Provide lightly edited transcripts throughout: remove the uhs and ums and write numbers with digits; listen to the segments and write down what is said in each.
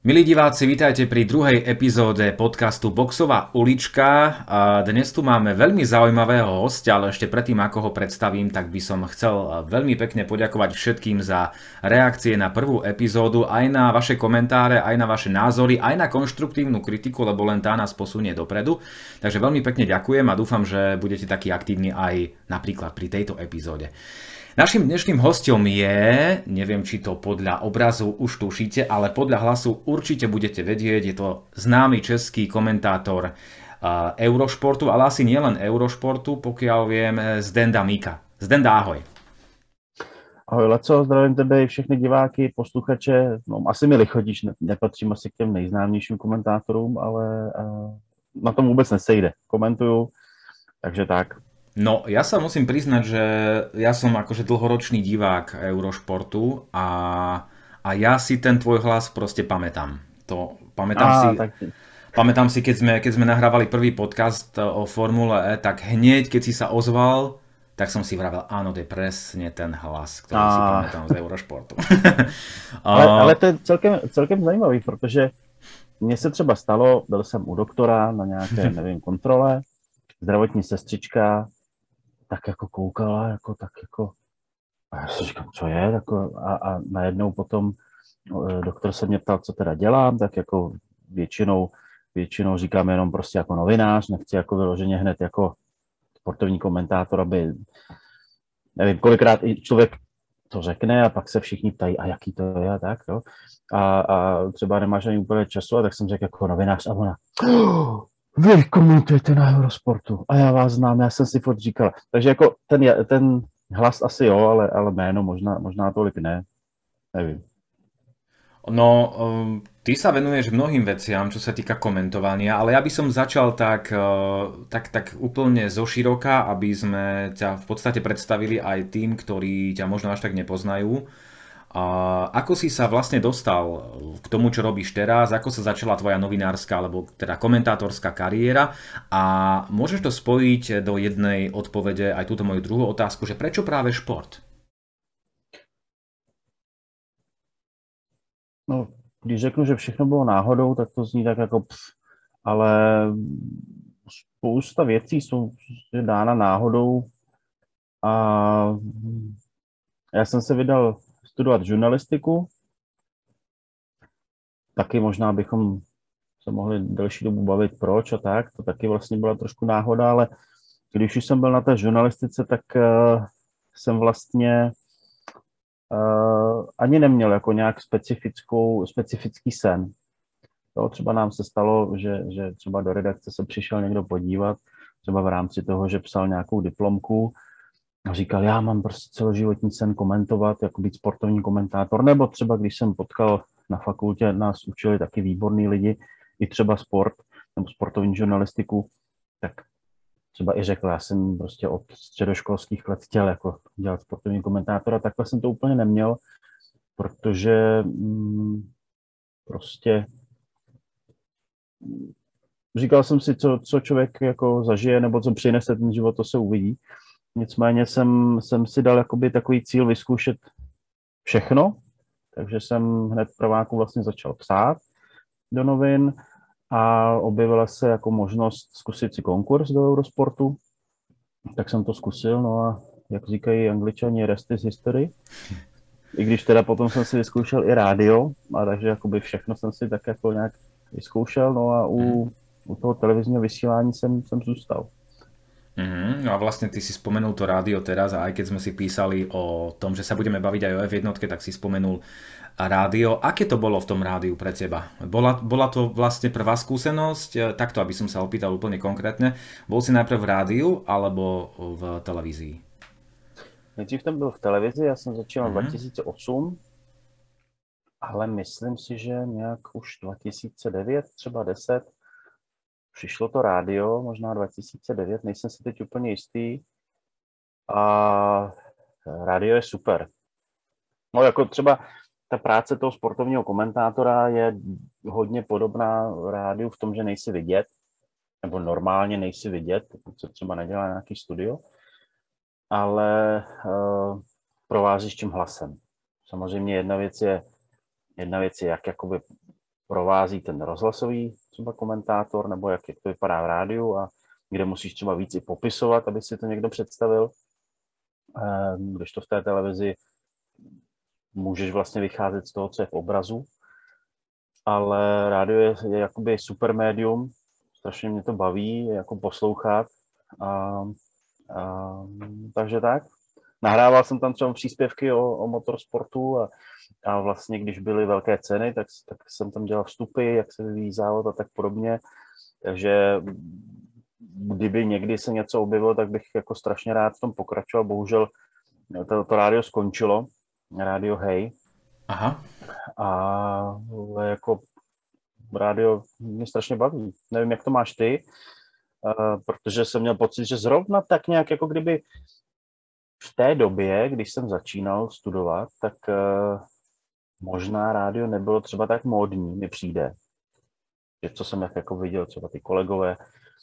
Milí diváci, vítajte pri druhej epizóde podcastu Boxová ulička. A dnes tu máme veľmi zaujímavého hostia, ale ešte predtým, ako ho predstavím, tak by som chcel veľmi pekne poďakovať všetkým za reakcie na prvú epizódu, aj na vaše komentáre, aj na vaše názory, aj na konštruktívnu kritiku, lebo len tá nás posunie dopredu. Takže veľmi pekne ďakujem a dúfam, že budete takí aktívni aj napríklad pri tejto epizóde. Naším dnešným hostom je, neviem či to podľa obrazu už tušíte, ale podľa hlasu určite budete vedieť, je to známy český komentátor Eurošportu, ale asi nielen Eurošportu, pokiaľ viem, Zdenda Mika. Zdenda, ahoj. Ahoj Laco, zdravím tebe i všechny diváky, posluchače. No, asi mi lichotíš, nepatřím asi k těm nejznámějším komentátorům, ale na tom vůbec nesejde. Komentuju, takže tak. No, ja sa musím priznať, že ja som akože dlhoročný divák Eurošportu a ja si ten tvoj hlas proste pamätám. Pamätám si, keď sme nahrávali prvý podcast o Formule E, tak hneď, keď si sa ozval, tak som si vravel, áno, to je presne ten hlas, ktorý si pamätám z Eurošportu. Ale to je celkem zajímavý, protože mně se třeba stalo, byl jsem u doktora na nějaké, nevím, kontrole, zdravotní sestřička, tak jako koukala, a já si říkám, co je, a najednou potom doktor se mě ptal, co teda dělám, tak jako většinou říkám jenom prostě jako novinář, nechci jako vyloženě hned jako sportovní komentátor, aby, nevím, kolikrát i člověk to řekne a pak se všichni ptají, a jaký to je a tak, jo. A třeba nemáš ani úplně času, a tak jsem řekl jako novinář a ona, vy komentujete na Eurosportu a já vás znám, já jsem si furt říkala. Takže jako ten hlas asi jo, ale jméno možná tolik ne, nevím. No, ty sa venuješ mnohým veciam, čo sa týka komentovania, ale ja by som začal tak úplne zoširoka, aby sme ťa v podstate predstavili aj tým, ktorí ťa možno až tak nepoznajú. A ako si sa vlastne dostal k tomu, čo robíš teraz, ako sa začala tvoja novinárska alebo teda komentátorská kariéra a môžeš to spojiť do jednej odpovede aj túto moju druhú otázku, že prečo práve šport? No, když řeknu, že všechno bylo náhodou, tak to zní tak jako ale spousta věcí jsou dána náhodou a já jsem se vydal studovat žurnalistiku, taky možná bychom se mohli delší dobu bavit proč a tak, to taky vlastně byla trošku náhoda, ale když už jsem byl na té žurnalistice, tak jsem vlastně ani neměl jako nějak specifický sen. Jo, třeba nám se stalo, že třeba do redakce se přišel někdo podívat, třeba v rámci toho, že psal nějakou diplomku a říkal, já mám prostě celoživotní sen komentovat, jako být sportovní komentátor, nebo třeba když jsem potkal na fakultě, nás učili taky výborní lidi, i třeba sport nebo sportovní žurnalistiku, tak třeba i řekl, já jsem prostě od středoškolských let chtěl jako dělat sportovní komentátora, takhle jsem to úplně neměl, protože prostě říkal jsem si, co člověk jako zažije, nebo co přinese ten život, to se uvidí. Nicméně jsem si dal jakoby takový cíl vyzkoušet všechno, takže jsem hned v prváku vlastně začal psát do novin a objevila se jako možnost zkusit si konkurs do Eurosportu, tak jsem to zkusil, no a jak říkají Angličani, rest is history. I když teda potom jsem si vyzkoušel i rádio, a takže jakoby všechno jsem si tak jako nějak vyzkoušel, no a u toho televizního vysílání jsem zůstal. No a vlastne ty si spomenul to rádio teraz a aj keď sme si písali o tom, že sa budeme baviť aj o F1, tak si spomenul rádio. Aké to bolo v tom rádiu pre teba? Bola to vlastne prvá skúsenosť? Takto, aby som sa opýtal úplne konkrétne. Bol si najprv v rádiu alebo v televízii? Nejdřív jsem byl v televizi, já jsem začal v 2008, ale myslím si, že nějak už 2009, třeba 10, přišlo to rádio, možná 2009, nejsem si teď úplně jistý. A rádio je super. No jako třeba ta práce toho sportovního komentátora je hodně podobná rádiu v tom, že nejsi vidět, nebo normálně nejsi vidět, pokud se třeba nedělá nějaký studio, ale provázíš tím hlasem. Samozřejmě jedna věc je jak jakoby provází ten rozhlasový třeba komentátor, nebo jak to vypadá v rádiu a kde musíš třeba víc i popisovat, aby si to někdo představil. Když to v té televizi můžeš vlastně vycházet z toho, co je v obrazu, ale rádio je jakoby super médium, strašně mě to baví jako poslouchat a takže tak. Nahrával jsem tam třeba příspěvky o motorsportu a vlastně, když byly velké ceny, tak jsem tam dělal vstupy, jak se vyvíjí závod a tak podobně. Takže kdyby někdy se něco objevilo, tak bych jako strašně rád v tom pokračoval. Bohužel to rádio skončilo, rádio Hej. Aha. Ale jako rádio mě strašně baví. Nevím, jak to máš ty, protože jsem měl pocit, že zrovna tak nějak, jako kdyby v té době, když jsem začínal studovat, tak možná rádio nebylo třeba tak módní, mi přijde. Že co jsem jako viděl, třeba ty kolegové,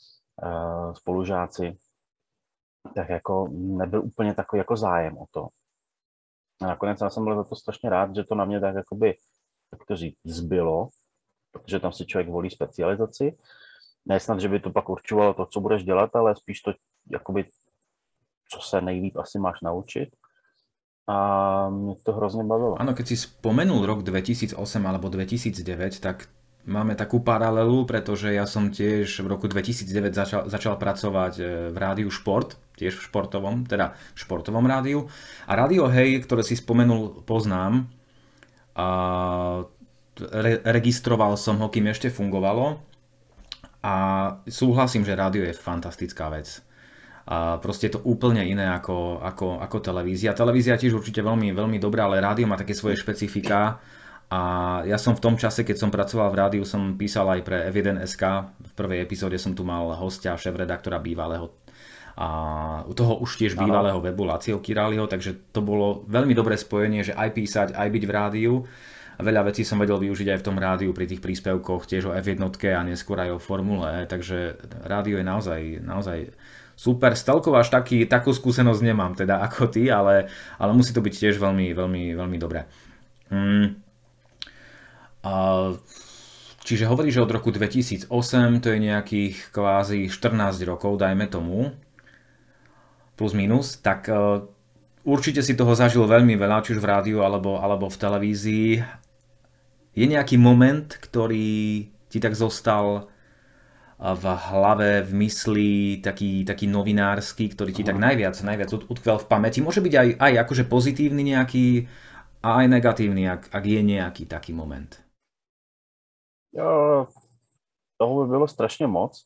spolužáci, tak jako nebyl úplně takový jako zájem o to. A nakonec já jsem byl za to strašně rád, že to na mě tak jakoby, jak to říct, zbylo, protože tam si člověk volí specializaci. Ne snad, že by to pak určovalo to, co budeš dělat, ale spíš to, jakoby, co se nejlíp asi máš naučit. A mě to hrozně bavilo. Áno, keď si spomenul rok 2008 alebo 2009, tak máme takú paralelu, pretože ja som tiež v roku 2009 začal pracovať v rádiu Šport, tiež v športovom rádiu. A rádio Hej, ktoré si spomenul, poznám. A registroval som ho, kým ešte fungovalo. A súhlasím, že rádio je fantastická vec. A proste je to úplne iné ako televízia. Televízia tiež určite veľmi, veľmi dobrá, ale rádio má také svoje špecifika. A ja som v tom čase, keď som pracoval v rádiu, som písal aj pre F1.sk. V prvej epizóde som tu mal hostia, šéfredaktora bývalého a u toho už tiež bývalého webu Lacio Királiho, takže to bolo veľmi dobré spojenie, že aj písať, aj byť v rádiu. Veľa vecí som vedel využiť aj v tom rádiu pri tých príspevkoch, tiež o F1 a neskôr aj o Formule E, takže rádio je naozaj super. Stelkov až takú skúsenosť nemám teda ako ty, ale musí to byť tiež veľmi, veľmi, veľmi dobré. Čiže hovoríš, že od roku 2008, to je nejakých kvázi 14 rokov, dajme tomu, plus minus, tak určite si toho zažil veľmi veľa, či už v rádiu alebo v televízii. Je nejaký moment, ktorý ti tak zostal v hlave, v mysli, taký novinársky, ktorý ti tak najviac utkvel v pamäti? Môže byť aj akože pozitívny nejaký a aj negatívny, ak je nejaký taký moment. Jo, toho by bylo strašně moc.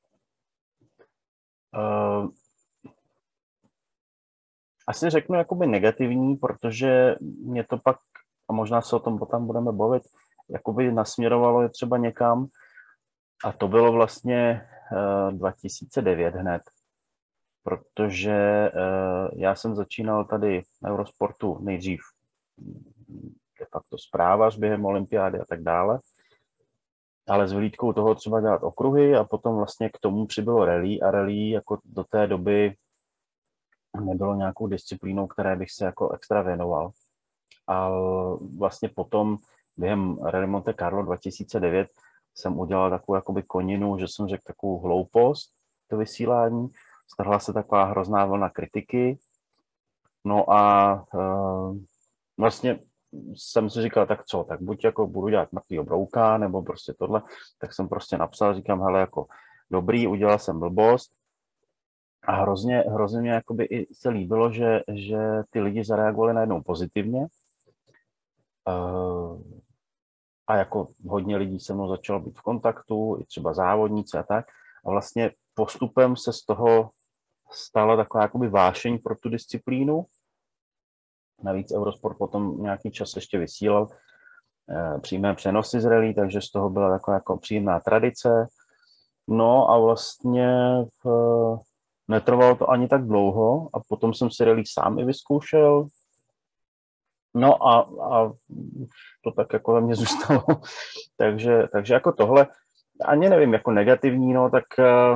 Asi řeknu jakoby negativní, protože mě to pak, a možná se o tom potom budeme bavit, jakoby nasměrovalo je třeba někam. A to bylo vlastně 2009 hned. Protože já jsem začínal tady na Eurosportu nejdřív de facto zprávař během olympiády a tak dále. Ale s vyhlídkou toho třeba dělat okruhy a potom vlastně k tomu přibylo rally a rally jako do té doby nebylo nějakou disciplínou, které bych se jako extra věnoval. A vlastně potom během Rally Monte Carlo 2009 jsem udělal takovou jakoby koninu, že jsem řekl takovou hloupost, to vysílání. Strhla se taková hrozná vlna kritiky. No a vlastně jsem si říkal, tak co, tak buď jako budu dělat mrtvýho brouka, nebo prostě tohle, tak jsem prostě napsal, říkám, hele, jako dobrý, udělal jsem blbost a hrozně mě jakoby i se líbilo, že ty lidi zareagovali najednou pozitivně a jako hodně lidí se mnou začalo být v kontaktu, i třeba závodníci a tak a vlastně postupem se z toho stala taková jakoby vášeň pro tu disciplínu. Navíc Eurosport potom nějaký čas ještě vysílal přímé přenosy z rally, takže z toho byla taková jako příjemná tradice. No a vlastně netrvalo to ani tak dlouho a potom jsem si rally sám i vyzkoušel. No a to tak jako ve mně zůstalo. takže jako tohle, ani nevím, jako negativní, no tak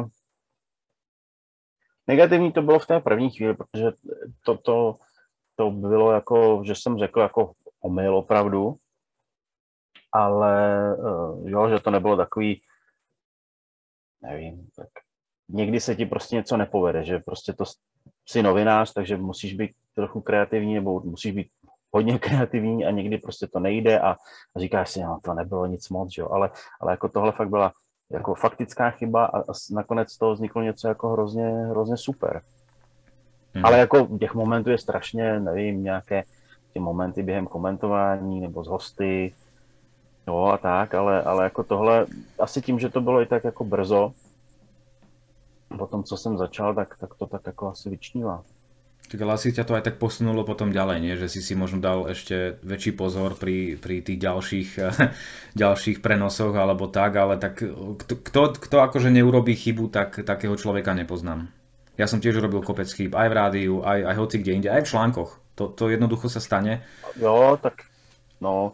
negativní to bylo v té první chvíli, protože to bylo jako, že jsem řekl jako omyl opravdu, ale jo, že to nebylo takový, nevím, tak někdy se ti prostě něco nepovede, že prostě to jsi novinář, takže musíš být trochu kreativní nebo musíš být hodně kreativní a někdy prostě to nejde a říkáš si, no to nebylo nic moc, jo, ale jako tohle fakt byla jako faktická chyba a nakonec z toho vzniklo něco jako hrozně super. Ale jako těch momentů je strašně, nevím, nějaké ty momenty během komentování nebo z hosty, jo a tak, ale jako tohle, asi tím, že to bylo i tak jako brzo, po tom, co jsem začal, tak to tak jako asi vyčnívá. Tak ale asi ťa to aj tak posunulo potom ďalej, nie? Že si možno dal ešte väčší pozor pri tých ďalších prenosoch alebo tak, ale tak kto akože neurobí chybu, tak takého človeka nepoznám. Ja som tiež urobil kopec chýb aj v rádiu, aj hoci kde inde, aj v článkoch. To jednoducho sa stane. Jo, tak no,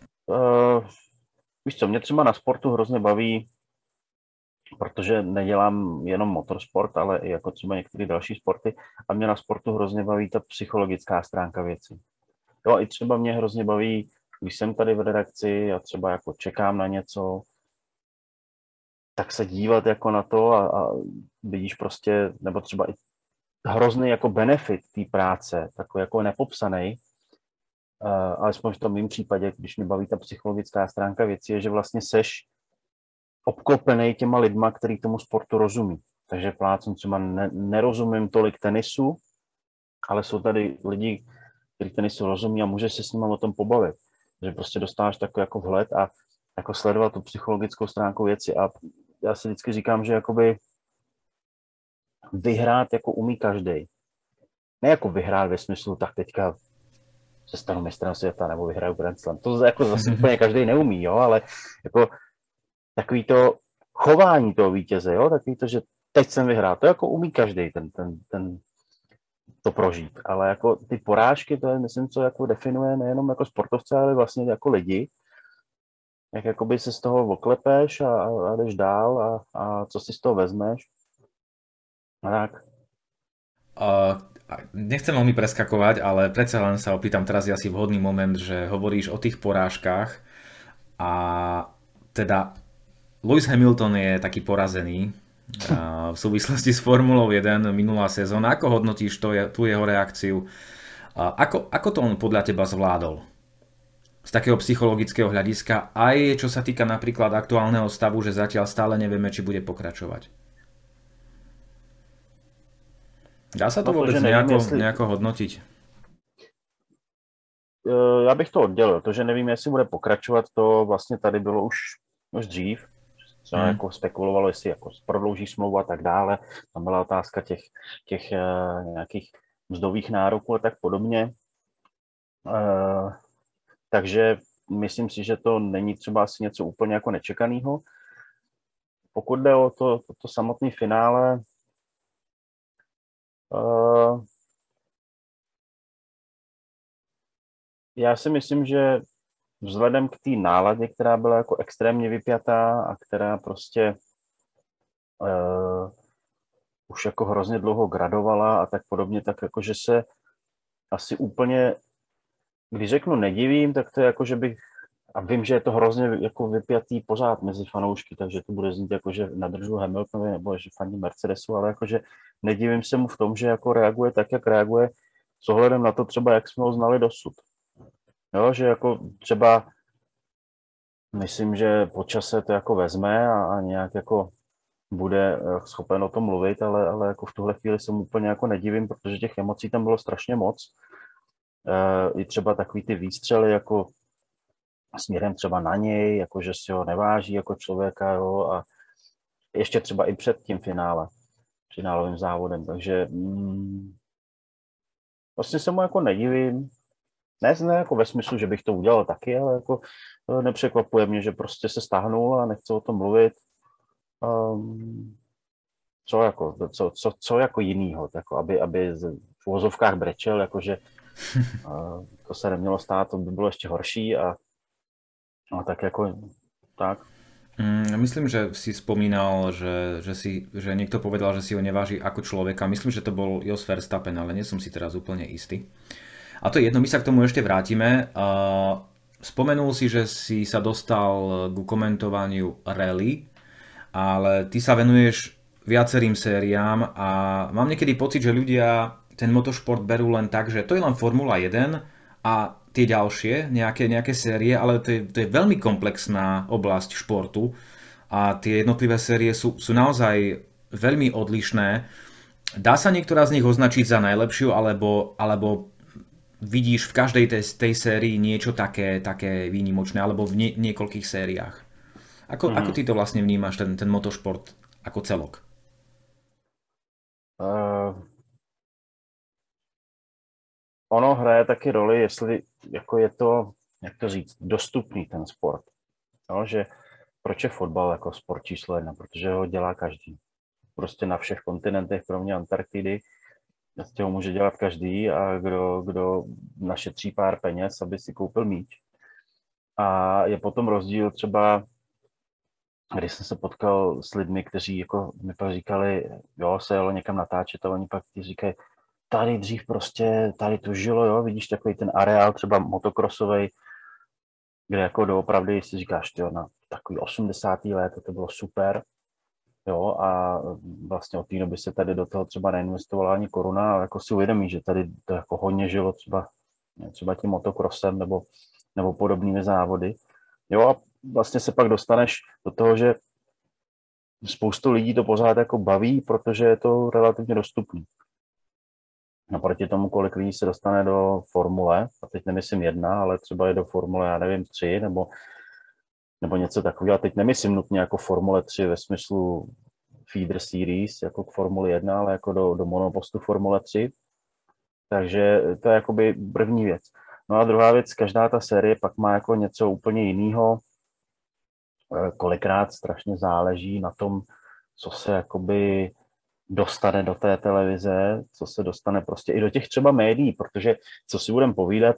víš co, mě třeba na sportu hrozně baví, protože nedělám jenom motorsport, ale i jako třeba některé další sporty a mě na sportu hrozně baví ta psychologická stránka věci. Jo, i třeba mě hrozně baví, když jsem tady v redakci a třeba jako čekám na něco, tak se dívat jako na to a vidíš prostě, nebo třeba i hrozný jako benefit té práce, takový jako nepopsaný, alespoň v tom mým případě, když mě baví ta psychologická stránka věci, je, že vlastně seš obklopený těma lidma, který tomu sportu rozumí. Takže plácem třeba nerozumím tolik tenisu, ale jsou tady lidi, kteří tenisu rozumí a můžeš se s nimi o tom pobavit. Takže prostě dostáváš takový jako vhled a jako sledovat tu psychologickou stránku věci. A já si vždycky říkám, že jakoby vyhrát jako umí každej. Ne jako vyhrát ve smyslu, tak teďka se stanu mistrem světa nebo vyhraju Grand Slam. To jako zase úplně každej neumí, jo, ale jako takový to chování toho vítěze, jo, takový to, že teď jsem vyhrál, to jako umí každý to prožít, ale jako ty porážky, to je, myslím, co jako definuje nejenom jako sportovce, ale vlastně jako lidi, jak jakoby se z toho oklepeš a jdeš dál a co si z toho vezmeš. A tak. Nechcem veľmi preskakovať, ale predsa len sa opýtam, teraz je asi vhodný moment, že hovoríš o tých porážkach a teda Lewis Hamilton je taký porazený v súvislosti s Formulou 1 minulá sezóna. Ako hodnotíš tú jeho reakciu? Ako to on podľa teba zvládol? Z takého psychologického hľadiska, aj čo sa týka napríklad aktuálneho stavu, že zatiaľ stále nevieme, či bude pokračovať. Dá sa to vôbec nejako hodnotiť? Já bych to oddělil. To, že nevím, jestli bude pokračovat, to vlastně tady bylo už dřív. Se jako spekulovalo, jestli jako prodlouží smlouvu a tak dále. Tam byla otázka těch nějakých mzdových nároků a tak podobně. Takže myslím si, že to není třeba asi něco úplně jako nečekaného. Pokud jde o to samotné finále, já si myslím, že vzhledem k té náladě, která byla jako extrémně vypjatá a která prostě už jako hrozně dlouho gradovala a tak podobně, tak jako, že se asi úplně, když řeknu nedivím, tak to je jako, že bych, a vím, že je to hrozně jako vypjatý pořád mezi fanoušky, takže to bude znít jako, že nadržu Hamiltonovi nebo že fandí Mercedesu, ale jako, že nedivím se mu v tom, že jako reaguje tak, jak reaguje s ohledem na to třeba, jak jsme ho znali dosud. Jo, že jako třeba myslím, že po čase to jako vezme a nějak jako bude schopen o tom mluvit, ale jako v tuhle chvíli se mu úplně jako nedivím, protože těch emocí tam bylo strašně moc. I třeba takový ty výstřely jako směrem třeba na něj, jako že si ho neváží jako člověka, jo, a ještě třeba i před tím finálovým závodem, takže vlastně se mu jako nedivím. Ne jako ve smyslu, že bych to udělal taky, ale jako nepřekvapuje mě, že prostě se stáhnul a nechce o tom mluvit. Co jako jinýho, jako aby v uvozovkách brečel, jakože to se nemělo stát, to by bylo ještě horší a tak jako tak. Myslím, že si spomínal, že niekto povedal, že si ho neváži ako človeka. Myslím, že to bol Jos Verstappen, ale nie som si teraz úplne istý. A to je jedno, my sa k tomu ešte vrátime. Spomenul si, že si sa dostal ku komentovaniu rally, ale ty sa venuješ viacerým sériám a mám niekedy pocit, že ľudia ten motošport berú len tak, že to je len Formula 1 a tie ďalšie, nejaké série, ale to je veľmi komplexná oblasť športu a tie jednotlivé série sú naozaj veľmi odlišné. Dá sa niektorá z nich označiť za najlepšiu, alebo vidíš v každej tej sérii niečo také výnimočné, alebo v niekoľkých sériách? Ako ty to vlastne vnímaš, ten motošport ako celok? Ono hraje taky roli, jestli jako je to, jak to říct, dostupný ten sport. No, že proč je fotbal jako sport číslo 1? Protože ho dělá každý. Prostě na všech kontinentech, kromě Antarktidy, ho může dělat každý a kdo našetří pár peněz, aby si koupil míč. A je potom rozdíl třeba, když jsem se potkal s lidmi, kteří jako mi pak říkali, jo, se jelo někam natáčet a oni pak ti říkají, tady dřív prostě, tady to žilo, jo, vidíš takový ten areál třeba motokrosovej, kde jako doopravdy si říkáš, jo, na takový 80. let, to bylo super, jo, a vlastně od té doby se tady do toho třeba neinvestovala ani koruna, ale jako si uvědomí, že tady to jako hodně žilo třeba tím motokrosem nebo podobnými závody, jo, a vlastně se pak dostaneš do toho, že spoustu lidí to pořád jako baví, protože je to relativně dostupný. Naproti tomu, kolik lidí se dostane do formule, a teď nemyslím 1, ale třeba je do formule, já nevím, 3, nebo něco takového. A teď nemyslím nutně jako formule 3 ve smyslu feeder series, jako k formuli 1, ale jako do monopostu formule 3. Takže to je jakoby první věc. No a druhá věc, každá ta série pak má jako něco úplně jiného. Kolikrát strašně záleží na tom, co se jakoby dostane do té televize, co se dostane prostě i do těch třeba médií, protože co si budeme povídat,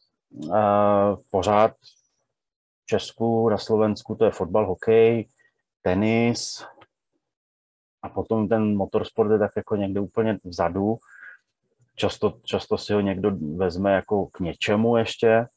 pořád v Česku, na Slovensku to je fotbal, hokej, tenis a potom ten motorsport je tak jako někde úplně vzadu. Často si ho někdo vezme jako k něčemu ještě,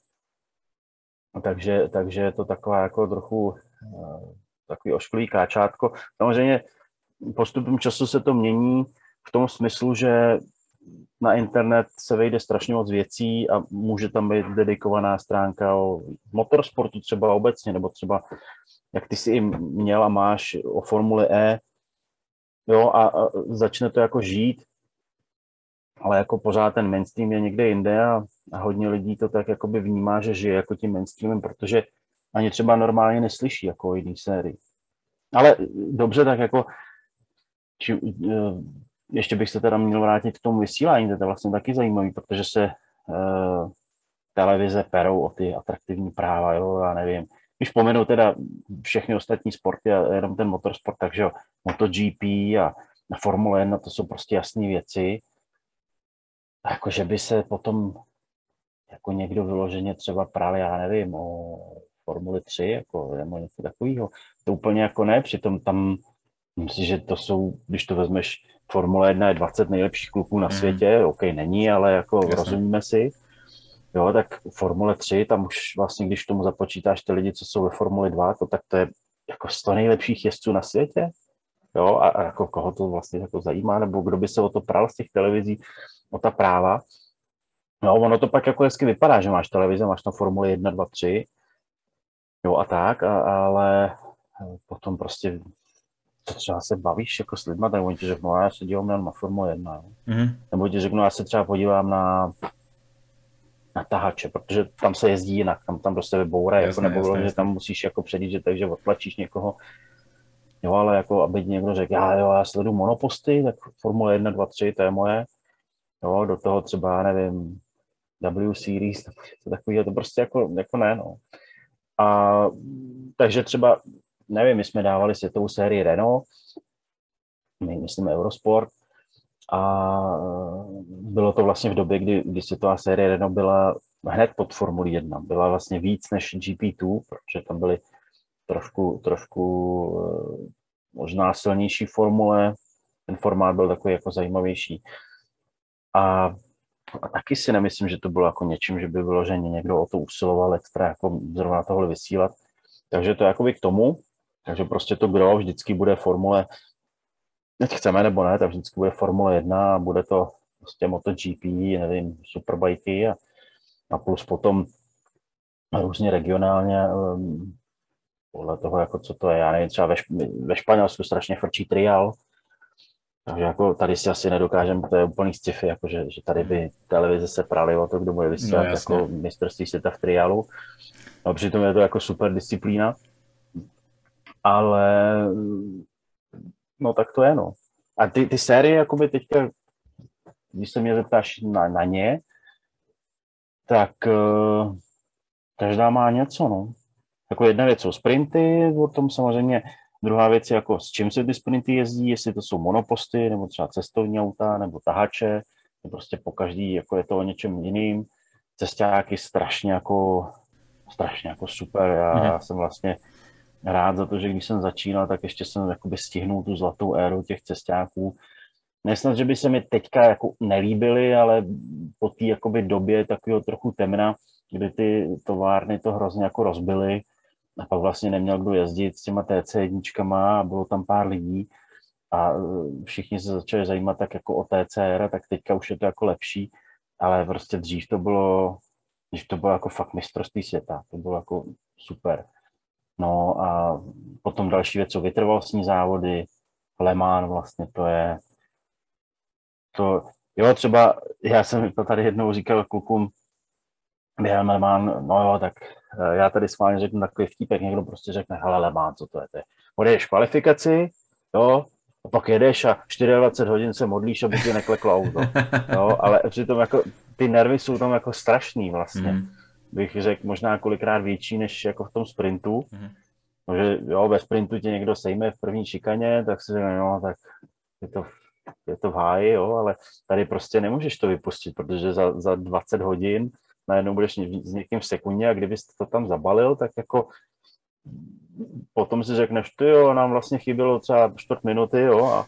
takže je to taková jako trochu takový ošklivý káčátko. Samozřejmě postupem času se to mění v tom smyslu, že na internet se vejde strašně moc věcí a může tam být dedikovaná stránka o motorsportu třeba obecně, nebo třeba, jak ty si i měl a máš o Formuli E, jo, a začne to jako žít, ale jako pořád ten mainstream je někde jinde a hodně lidí to tak jakoby vnímá, že žije jako tím mainstreamem, protože ani třeba normálně neslyší jako o jiný sérii. Ale dobře, tak jako ještě bych se teda měl vrátit k tomu vysílání, to je vlastně taky zajímavý, protože se televize perou o ty atraktivní práva, jo, já nevím. Když pomenu teda všechny ostatní sporty a jenom ten motorsport, takže jo, MotoGP a Formule 1, to jsou prostě jasné věci. A jako, že by se potom jako někdo vyloženě třeba právě, já nevím, o Formuli 3, jako, nebo něco takového, to úplně jako ne, přitom tam myslím, že to jsou, když to vezmeš, Formule 1 je 20 nejlepších kluků na světě, OK, není, ale jako rozumíme si. Jo, tak Formule 3, tam už vlastně, když tomu započítáš ty lidi, co jsou ve Formuli 2, tak to je jako 100 nejlepších jezdců na světě. Jo, a jako koho to vlastně jako zajímá, nebo kdo by se o to pral z těch televizí, o ta práva. No, ono to pak jako hezky vypadá, že máš televize, máš tam Formuli 1, 2, 3, jo a tak, ale potom prostě to třeba se bavíš jako s lidma, tak oni ti řeknou, já se dívám na Formule 1, nebo ti řeknou, já se třeba podívám na tahače, protože tam se jezdí jinak, tam prostě vybourají, jako nebo že tam musíš jako předjíždět, takže odtlačíš někoho, jo, ale jako aby někdo řekl, já sleduju monoposty, tak Formule 1, 2, 3, to je moje, jo, do toho třeba, nevím, W Series, to takový, to prostě jako ne, no. A takže třeba, nevím, my jsme dávali světovou sérii Renault, my myslíme Eurosport, a bylo to vlastně v době, kdy světová série Renault byla hned pod Formulí 1. Byla vlastně víc než GP2, protože tam byly trošku možná silnější formule. Ten formát byl takový jako zajímavější. A A taky si nemyslím, že to bylo jako něčím, že by vyloženě někdo o to usiloval extra jako zrovna tohle vysílat. Takže to je jakoby k tomu. Takže prostě to gro vždycky bude formule, ať chceme nebo ne, tak vždycky bude Formule 1 a bude to prostě MotoGP, nevím, superbajky a plus potom různě regionálně podle toho, jako co to je, já nevím, třeba ve Španělsku strašně frčí trial, takže jako tady si asi nedokážeme, to je úplný sci-fi, jako že tady by televize se praly o to, kdo bude vysílat jako mistrovství světa v triálu. No, přitom je to jako super disciplína, ale no tak to je, no. A ty série, jakoby teďka, když se mě zeptáš na ně, tak každá má něco, no. Jako jedna věc jsou sprinty, o tom samozřejmě, druhá věc je jako s čím se ty sprinty jezdí, jestli to jsou monoposty, nebo třeba cestovní auta, nebo tahače, to prostě po každý, jako je to o něčem jiným. Cestáky strašně jako super, já jsem vlastně rád za to, že když jsem začínal, tak ještě jsem jakoby stihnul tu zlatou éru těch cestáků. Nesnad, že by se mi teďka jako nelíbily, ale po té jakoby době takového trochu temna, kdy ty továrny to hrozně jako rozbily a pak vlastně neměl kdo jezdit s těma TC1 a bylo tam pár lidí a všichni se začali zajímat tak jako o TCR, tak teďka už je to jako lepší, ale prostě dřív to bylo jako fakt mistrovství světa, to bylo jako super. No a potom další věc jsou vytrvalostní závody, Le Mans vlastně jo, třeba já jsem to tady jednou říkal klukům během Le Mans, no jo, tak já tady schválně řeknu takový vtípek, někdo prostě řekne, hele Le Mans, co to je? Odjedeš kvalifikaci, jo, a pak jedeš a 24 hodin se modlíš, aby ti nekleklo auto, jo, ale přitom jako ty nervy jsou tam jako strašný vlastně, bych řekl možná kolikrát větší než jako v tom sprintu, no, že jo, ve sprintu tě někdo sejme v první šikaně, tak si řekne, no, tak je to v háji, jo, ale tady prostě nemůžeš to vypustit, protože za 20 hodin najednou budeš s někým v sekundě a kdybys to tam zabalil, tak jako potom si řekneš, ty jo, nám vlastně chybělo třeba 4 minuty, jo,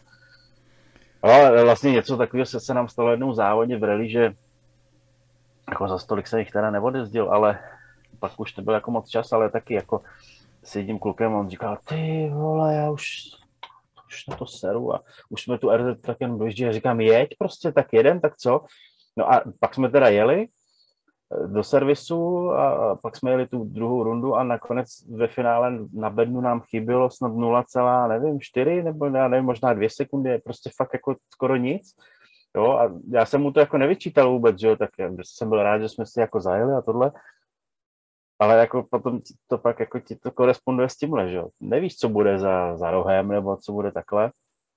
ale vlastně něco takového se nám stalo jednou závodě v rally, že jako za stolik se jich teda neodjezdil, ale pak už to byl jako moc čas, ale taky jako s jedním klukem, on říkal, ty vole, já už na to seru a už jsme tu RZ tak jen dojíždí a říkám, jeď prostě, tak jedem, tak co? No a pak jsme teda jeli do servisu a pak jsme jeli tu druhou rundu a nakonec ve finále na bednu nám chybělo snad 0,4 nebo já nevím, možná 2 sekundy, prostě fakt jako skoro nic. Jo, a já jsem mu to jako nevyčítal vůbec, že jo, tak jsem byl rád, že jsme si jako zajeli a tohle. Ale jako potom to pak jako ti to koresponduje s tímhle, že jo. Nevíš, co bude za rohem, nebo co bude takhle.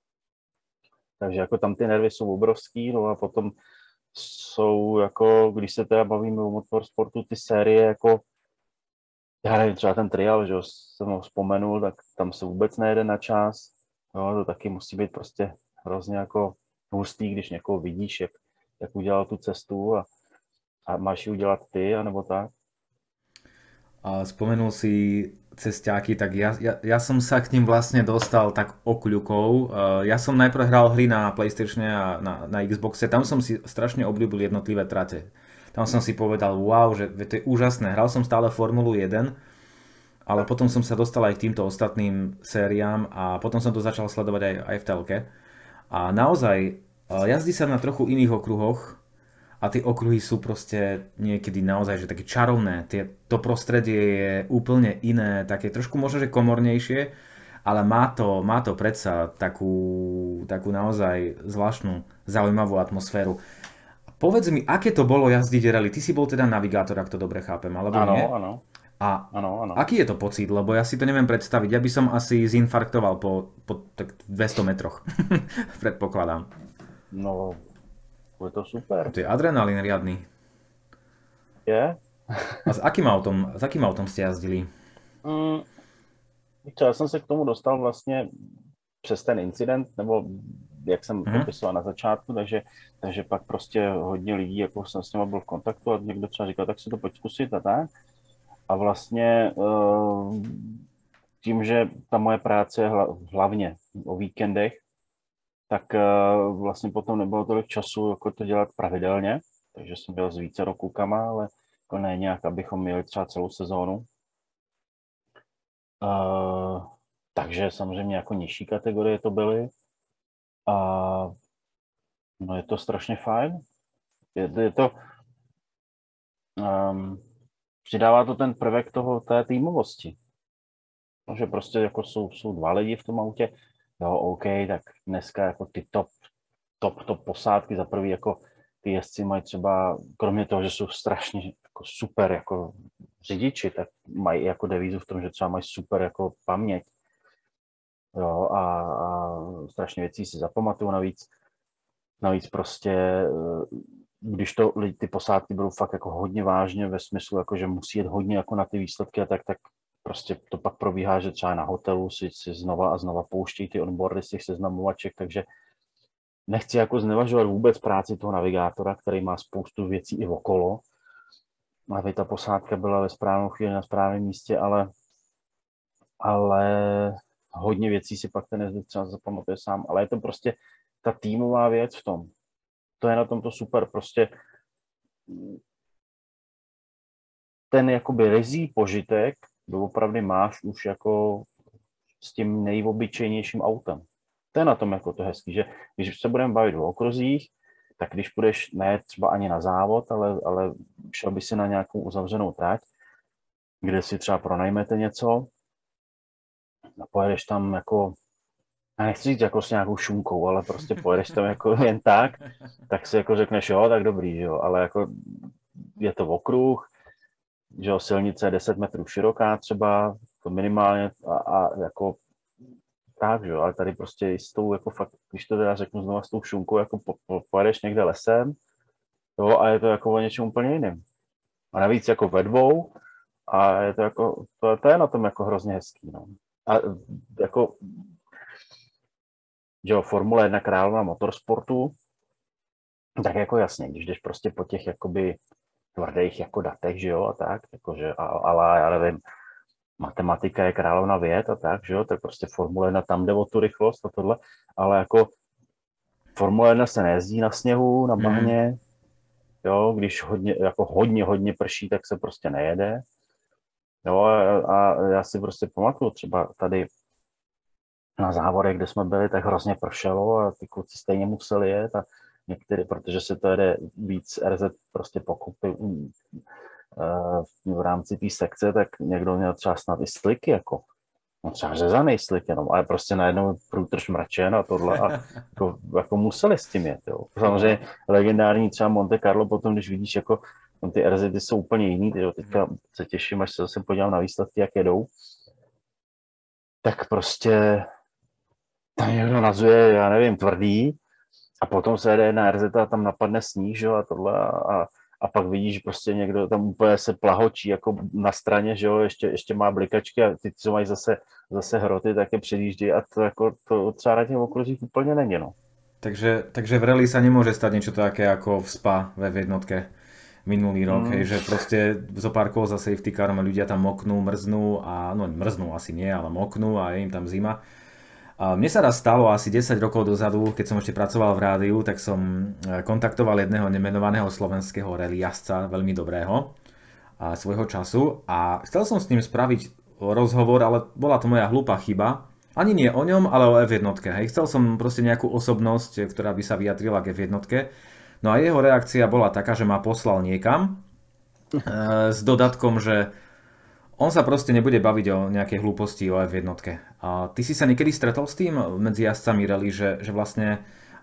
Takže jako tam ty nervy jsou obrovský, no a potom jsou jako, když se teda bavíme o motorsportu, ty série jako, já nevím, třeba ten trial, že jo, jsem ho vzpomenul, tak tam se vůbec nejede na čas. Jo, to taky musí být prostě hrozně jako hustý, když někoho vidíš, jak udělal tu cestu a máš ji udělat ty, anebo tak. A spomenul si cesťáky, tak ja som sa k ním vlastne dostal tak okľukov. Ja som najprv hral hry na PlayStatione a na Xboxe, tam som si strašne obľúbil jednotlivé trate. Tam som si povedal, wow, že to je úžasné. Hral som stále Formulu 1, ale potom som sa dostal aj k týmto ostatným sériám a potom som to začal sledovať aj v telke. A naozaj jazdí sa na trochu iných okruhoch, a tie okruhy sú proste niekedy naozaj že také čarovné. To prostredie je úplne iné, také trošku možno že komornejšie, ale má to predsa takú naozaj zvláštnu, zaujímavú atmosféru. Povedz mi, aké to bolo jazdiť rally? Ty si bol teda navigátor, ak to dobre chápem, alebo nie? Áno. A aký je to pocit? Lebo ja si to neviem predstaviť. Ja by som asi zinfarktoval po tak 200 metroch. Predpokladám. No, je to super. To je adrenalín riadny. Je? A s akým autom ste jazdili? Já jsem se k tomu dostal vlastně přes ten incident, nebo jak jsem popisoval na začátku, takže pak prostě hodně lidí, jako jsem s nimi byl v kontaktu a někdo třeba říkal, tak si to pojď zkusit a tak. A vlastně tím, že ta moje práce je hlavně o víkendech, tak vlastně potom nebylo tolik času jako to dělat pravidelně. takže jsem byl s více klukama, ale jako ne nějak, abychom měli třeba celou sezónu. Takže samozřejmě jako nižší kategorie to byly. A no je to strašně fajn. Je to, přidává to ten prvek té týmovosti. No, že prostě jako jsou dva lidi v tom autě, jo, OK, tak dneska jako ty top posádky, za prvý jako ty jezdci mají třeba, kromě toho, že jsou strašně jako super jako řidiči, tak mají jako devízu v tom, že třeba mají super jako paměť, jo, a strašně věcí si zapamatuju navíc prostě, když ty posádky budou fakt jako hodně vážně ve smyslu, jako že musí jet hodně jako na ty výsledky a tak prostě to pak probíhá, že třeba na hotelu si znova a znova pouštějí ty onboardy z těch seznamovaček, takže nechci jako znevažovat vůbec práci toho navigátora, který má spoustu věcí i okolo, aby ta posádka byla ve správnou chvíli na správném místě, ale hodně věcí si pak ten jezdec třeba zapamatuje sám, ale je to prostě ta týmová věc v tom. To je na tom to super, prostě ten jakoby ryzí požitek doopravdy máš už jako s tím nejobyčejnějším autem. To je na tom jako to hezký, že když se budeme bavit o okruzích, tak když půjdeš ne třeba ani na závod, ale šel by si na nějakou uzavřenou trať, kde si třeba pronajmete něco a pojedeš tam jako, já nechci říct jako s nějakou šunkou, ale prostě pojedeš tam jako jen tak si jako řekneš, jo, tak dobrý, jo, ale jako je to okruh, že jo, silnice je 10 metrů široká třeba, to minimálně a jako tak, že jo, ale tady prostě s tou, jako fakt, když to teda řeknu znovu s tou šunkou, jako pojedeš někde lesem, jo, a je to jako o něčem úplně jiným. A navíc jako ve dvou a je to jako, to je na tom jako hrozně hezký, no. A jako, že jo, Formule 1 královna motorsportu, tak jako jasně, když jdeš prostě po těch jakoby tvrdých jako datech, že jo, a tak, jakože, ale já nevím, matematika je královna věd a tak, že jo, tak prostě Formule 1 tam jde o tu rychlost a tohle, ale jako Formule 1 se nejezdí na sněhu, na bahně, jo, když hodně prší, tak se prostě nejede, jo, a já si prostě pamatuju třeba tady na závodech, kde jsme byli, tak hrozně pršelo a ty kluci stejně museli jet a některý, protože se to jede víc RZ prostě pokupy v rámci té sekce, tak někdo měl třeba snad i sliky, jako no třeba řezaný slik jenom, ale prostě najednou průtrž mračen a tohle a jako museli s tím jet, jo. Samozřejmě legendární třeba Monte Carlo potom, když vidíš, jako ty RZ jsou úplně jiný, jo. Teďka se těším, až se zase podívám na výsledky, jak jedou, tak prostě tam někdo nazuje, já nevím, tvrdý a potom se jede na RZ a tam napadne sníh, že jo, a tohle a pak vidíš, prostě někdo tam úplně se plahočí jako na straně, že jo, ještě má blikačky a ty, co mají zase hroty, tak je předjíždí a to jako to třeba na těch okruzích úplně není, no. Takže v rally sa nemôže stať niečo také ako v Spa ve jednotke minulý rok, že proste zo pár kôl za safety carom ľudia tam moknú, mrznú a no mrznú asi nie, ale moknú a je im tam zima. A mne sa raz stalo asi 10 rokov dozadu, keď som ešte pracoval v rádiu, tak som kontaktoval jedného nemenovaného slovenského rally jazdca, veľmi dobrého svojho času a chcel som s ním spraviť rozhovor, ale bola to moja hlúpa chyba. Ani nie o ňom, ale o F1. Hej. Chcel som proste nejakú osobnosť, ktorá by sa vyjadrila k F1. No a jeho reakcia bola taká, že ma poslal niekam s dodatkom, že on sa proste nebude baviť o nejakej hlúposti o F1. A ty si sa niekedy stretol s tým medzi jazdcami rally, že vlastne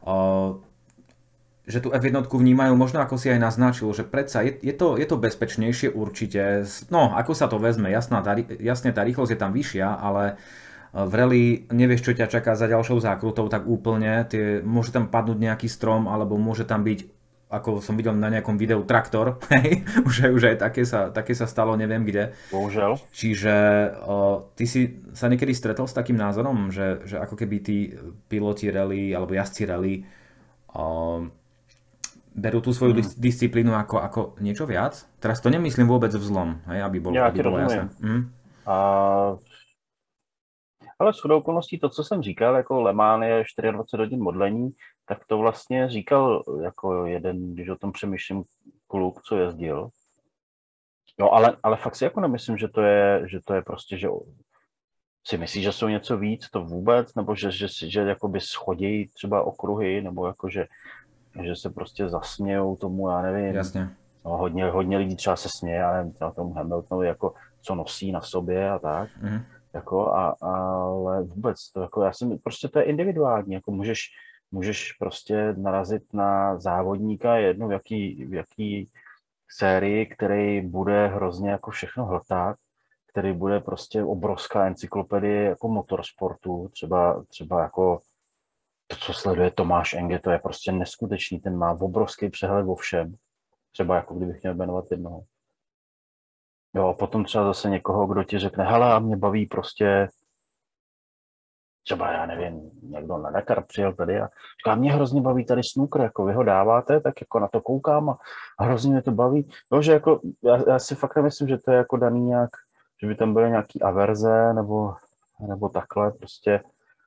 že tú F1 vnímajú, možno ako si aj naznačil, že predsa je to bezpečnejšie určite. No, ako sa to vezme, jasne tá rýchlosť je tam vyššia, ale v rally nevieš, čo ťa čaká za ďalšou zákrutou, tak úplne. Môže tam padnúť nejaký strom, alebo môže tam byť, ako som videl na nejakom videu, traktor. už aj také sa stalo, neviem kde. Bohužiaľ. Čiže ty si sa niekedy stretol s takým názorom, že ako keby tí piloti rally alebo jazdci rally berú tú svoju disciplínu ako niečo viac? Teraz to nemyslím vôbec v zlom, aby bolo jasné. Ale shodou okolností to, co jsem říkal, jako Le Mans je 24 hodin modlení, tak to vlastně říkal jako jeden, když o tom přemýšlím, kluk, co jezdil. Jo, ale fakt si jako nemyslím, že to je prostě, že si myslíš, že jsou něco víc, to vůbec, nebo že jakoby schodí třeba okruhy, nebo jako, že se prostě zasmějou tomu, já nevím. Jasně. No, hodně lidí třeba se směje, já nevím, třeba tomu Hamiltonovi, jako co nosí na sobě a tak. Jako, ale vůbec to jako, prostě to je individuální, jako můžeš prostě narazit na závodníka jednou v jaký sérii, který bude hrozně jako všechno hltat, který bude prostě obrovská encyklopedie jako motorsportu, třeba jako to, co sleduje Tomáš Enge, to je prostě neskutečný, ten má obrovský přehled o všem, třeba jako kdybych měl jmenovat jednoho. Jo, a potom třeba zase někoho, kdo ti řekne, hele, a mě baví prostě, třeba já nevím, někdo na Dakar přijel tady a říká, mě hrozně baví tady snooker, jako vy ho dáváte, tak jako na to koukám a hrozně mě to baví. No, že jako, já si fakt nemyslím, že to je jako daný nějak, že by tam byly nějaký averze nebo takhle, prostě.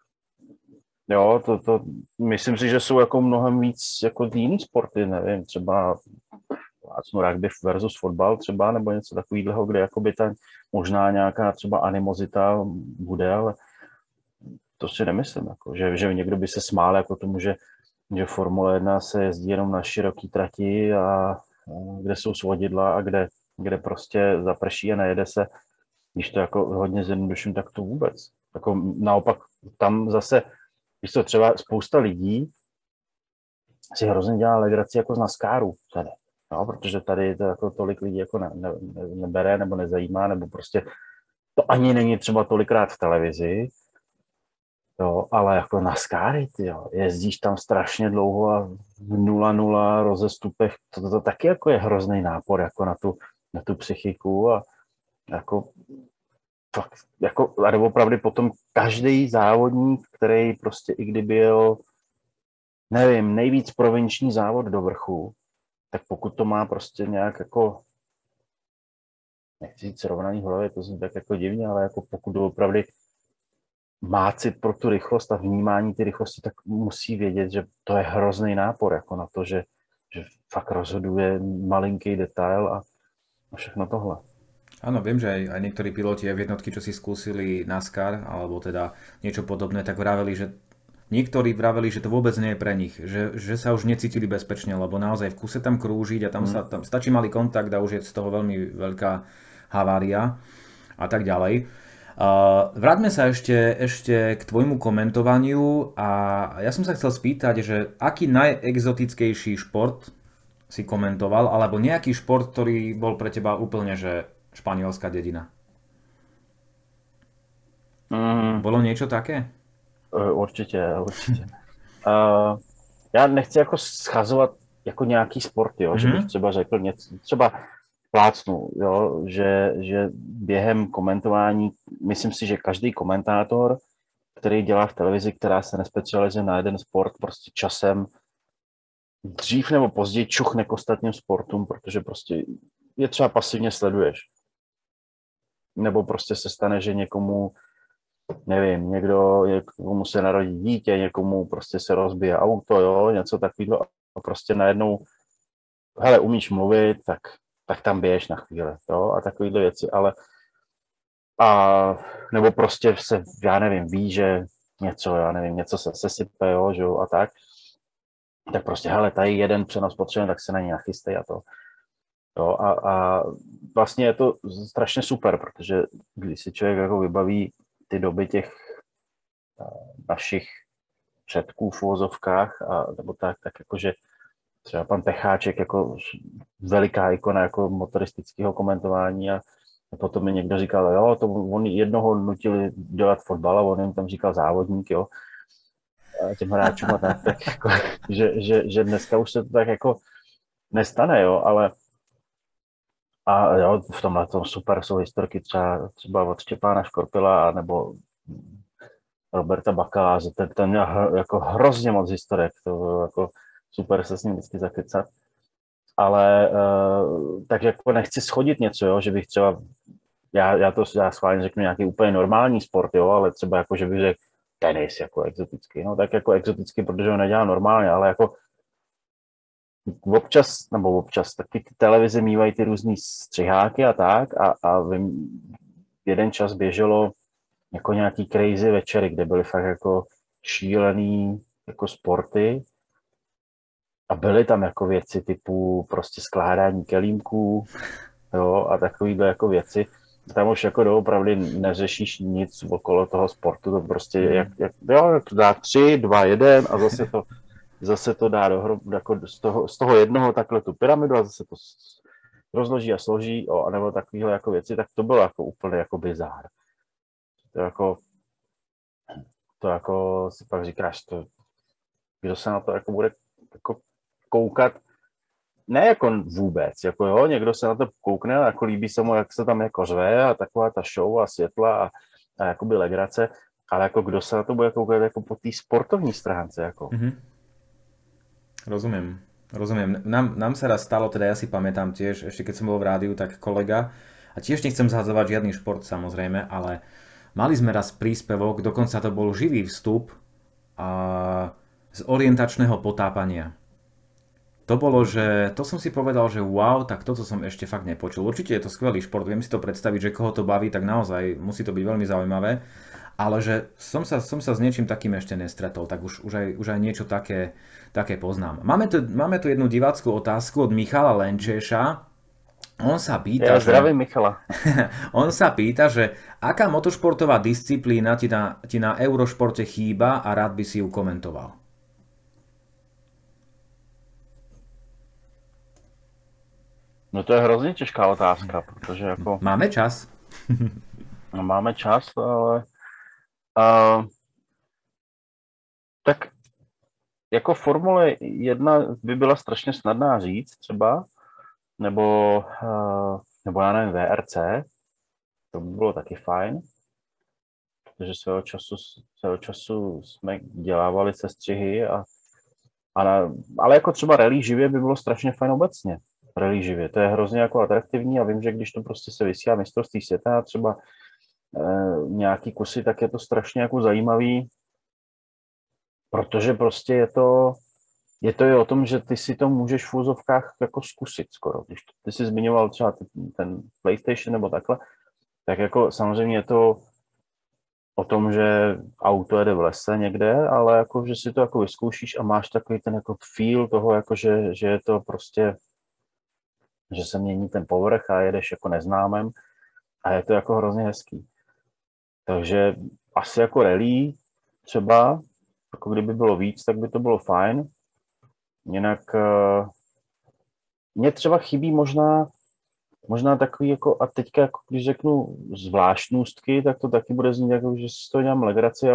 Jo, to myslím si, že jsou jako mnohem víc jako jiný sporty, nevím, třeba rugby versus fotbal třeba, nebo něco takového, kde jakoby tam možná nějaká třeba animozita bude, ale to si nemyslím, jako, že někdo by se smál jako tomu, že Formule 1 se jezdí jenom na široký trati a kde jsou svodidla a kde prostě zaprší a nejede se, když to jako hodně zjednoduším, tak to vůbec. Jako naopak tam zase, když to třeba spousta lidí si hrozně dělá legraci jako z NASCARu tady. No, protože tady to jako tolik lidí jako nebere nebo nezajímá, nebo prostě to ani není třeba tolikrát v televizi, jo, ale jako NASCARy, jo, jezdíš tam strašně dlouho a v 0-0 rozestupech, to taky jako je hrozný nápor jako na tu psychiku a jako fakt, jako, a opravdu potom každý závodník, který prostě i kdyby byl, nevím, nejvíc provinční závod do vrchu, tak pokud to má prostě nějak jako, nechci říct srovnaný v hlavě, to zní tak jako divně, ale jako pokud opravdu má cit pro tu rychlost a vnímání ty rychlosti, tak musí vědět, že to je hrozný nápor jako na to, že fakt rozhoduje malinký detail a všechno tohle. Áno, viem, že aj niektorí piloti v jednotky, čo si skúsili NASCAR, alebo teda niečo podobné, tak niektorí vraveli, že to vôbec nie je pre nich, že sa už necítili bezpečne, lebo naozaj v kuse tam krúžiť a tam stačí malý kontakt a už je z toho veľmi veľká havária a tak ďalej. Vráťme sa ešte k tvojmu komentovaniu a ja som sa chcel spýtať, že aký najexotickejší šport si komentoval, alebo nejaký šport, ktorý bol pre teba úplne, že španielská dedina. Bolo niečo také? Určitě. Já nechci jako schazovat jako nějaký sport, jo, že bych třeba řekl něco, třeba plácnu, jo, že během komentování, myslím si, že každý komentátor, který dělá v televizi, která se nespecializuje na jeden sport, prostě časem dřív nebo později čuchne k ostatním sportům, protože prostě je třeba pasivně sleduješ. Nebo prostě se stane, že někomu, nevím, někomu se narodí dítě, někomu prostě se rozbije auto, jo, něco takového a prostě najednou, hele, umíš mluvit, tak tam běž na chvíli, jo, a takovéhle věci, ale nebo prostě se, já nevím, ví, že něco se sesype, jo, a tak prostě, hele, tady jeden přenos potřebujeme, tak se na něj nachystej a to. Jo, a vlastně je to strašně super, protože když si člověk jako vybaví ty doby těch našich předků v uvozovkách, nebo tak jakože třeba pan Pecháček jako veliká ikona jako motoristického komentování a potom mi někdo říkal, jo, to on jednoho nutili dělat fotbal a on jim tam říkal závodník, jo, těm hráčům a tak jako, že dneska už se to tak jako nestane, jo, ale a jo, v tomhle tom super jsou historky třeba od Štěpána Škorpila nebo Roberta Bakala, že ten měl jako hrozně moc historek, to bylo jako super se s ním vždycky zakecat. Ale tak jako nechci schodit něco, jo, že bych třeba já schválně řeknu nějaký úplně normální sport, jo, ale třeba jako, že bych řekl tenis jako exotický, no tak jako exotický, protože ho nedělá normálně, ale jako občas taky ty televize mývají ty různý střiháky a tak a vím, jeden čas běželo jako nějaký crazy večery, kde byly fakt jako šílený jako sporty a byly tam jako věci typu prostě skládání kelímků, jo, a takovýhle jako věci. Tam už jako doopravdy neřešíš nic okolo toho sportu, to prostě jak to dá 3, 2, 1 a zase to dá dohromady jako z toho jednoho takhle tu pyramidu a zase to rozloží a složí, anebo takovýhle jako věci, tak to bylo jako úplně jako bizár. To jako si pak říkáš, kdo se na to jako bude jako koukat, ne jako vůbec, jako jo, někdo se na to koukne a jako líbí se mu, jak se tam jako řve a taková ta show a světla a jakoby legrace, ale jako kdo se na to bude koukat jako po té sportovní stránce, jako. Rozumiem. Nám sa raz stalo, teda ja si pamätám tiež, ešte keď som bol v rádiu, tak kolega, a tiež nechcem zhadzovať žiadny šport samozrejme, ale mali sme raz príspevok, dokonca to bol živý vstup z orientačného potápania. To bolo, že to som si povedal, že wow, tak toto som ešte fakt nepočul. Určite je to skvelý šport, viem si to predstaviť, že koho to baví, tak naozaj musí to byť veľmi zaujímavé. Ale že som sa s niečím takým ešte nestretol, tak už aj niečo také poznám. Máme tu jednu divácku otázku od Michala Lenčeša. On sa pýta, zdravím Michala. On sa pýta, že aká motošportová disciplína ti na Eurošporte chýba a rád by si ju komentoval. No to je hrozně těžká otázka, protože jako... Máme čas. No, máme čas, ale... tak jako Formule 1 by byla strašně snadná říct třeba, nebo já nevím, VRC, to by bylo taky fajn, protože svého času jsme dělávali sestřihy ale jako třeba rally živě by bylo strašně fajn obecně. Rally živě, to je hrozně jako atraktivní a vím, že když to prostě se vysílá mistrovství světa třeba nějaký kusy, tak je to strašně jako zajímavý, protože prostě je to i o tom, že ty si to můžeš v úzovkách jako zkusit skoro. Když ty jsi zmiňoval třeba ten PlayStation nebo takhle, tak jako samozřejmě je to o tom, že auto jede v lese někde, ale jako, že si to jako vyzkoušíš a máš takový ten jako feel toho, jako že je to prostě, že se mění ten povrch a jedeš jako neznámem a je to jako hrozně hezký. Takže asi jako rally třeba, jako kdyby bylo víc, tak by to bylo fajn. Jinak mě třeba chybí možná takový jako, a teďka jako když řeknu zvláštnostky, tak to taky bude znít jako, že si to dělám legraci,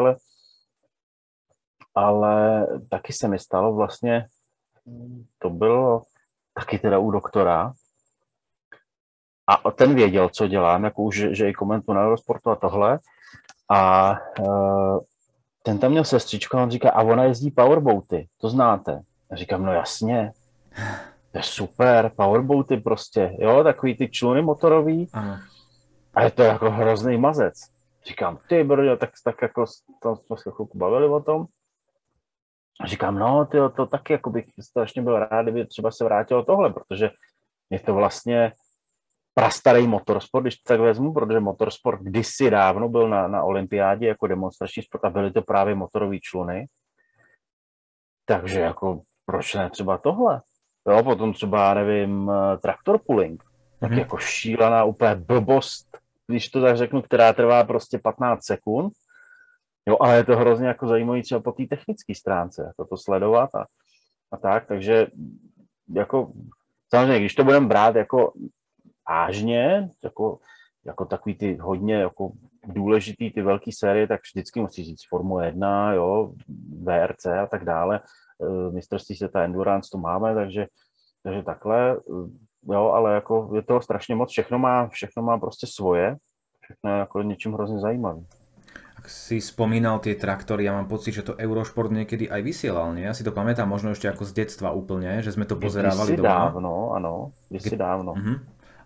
ale taky se mi stalo vlastně, to bylo taky teda u doktora, a ten věděl, co dělám, jako už, že i komentu na Eurosportu a tohle. A ten tam měl sestřičku a on říká, a ona jezdí powerboaty, to znáte. A říkám, no jasně, to je super, powerboaty prostě, jo, takový ty čluny motorový. Ano. A je to jako hrozný mazec. Říkám, ty brďo, tak jako tam jsme se chvilku bavili o tom. A říkám, no, tyjo, to taky jako bych strašně byl rád, kdyby třeba se vrátilo tohle, protože je to vlastně prastarý motorsport, když to tak vezmu, protože motorsport kdysi dávno byl na olympiádě jako demonstrační sport a byly to právě motorové čluny. Takže jako proč ne třeba tohle? Jo, potom třeba, nevím, traktor pulling, tak jako šílená úplně blbost, když to tak řeknu, která trvá prostě 15 sekund. Jo, ale je to hrozně jako zajímavý třeba po té technické stránce, jako to sledovat a tak, takže jako samozřejmě, když to budeme brát jako vážně, jako takový ty hodně jako důležitý ty velké série, tak vždycky musí říct Formule 1, jo, VRC a tak dále, mistrovství světa Endurance to máme, takže takhle, jo, ale jako je toho strašně moc, všechno má prostě svoje, všechno je jako něčím hrozně zajímavý. Ak si spomínal tie traktory, ja mám pocit, že to Eurošport niekedy aj vysielal, nie? Ja si to pamätám možno ešte ako z detstva úplne, že sme to pozerávali doma. Dávno, áno, dávno.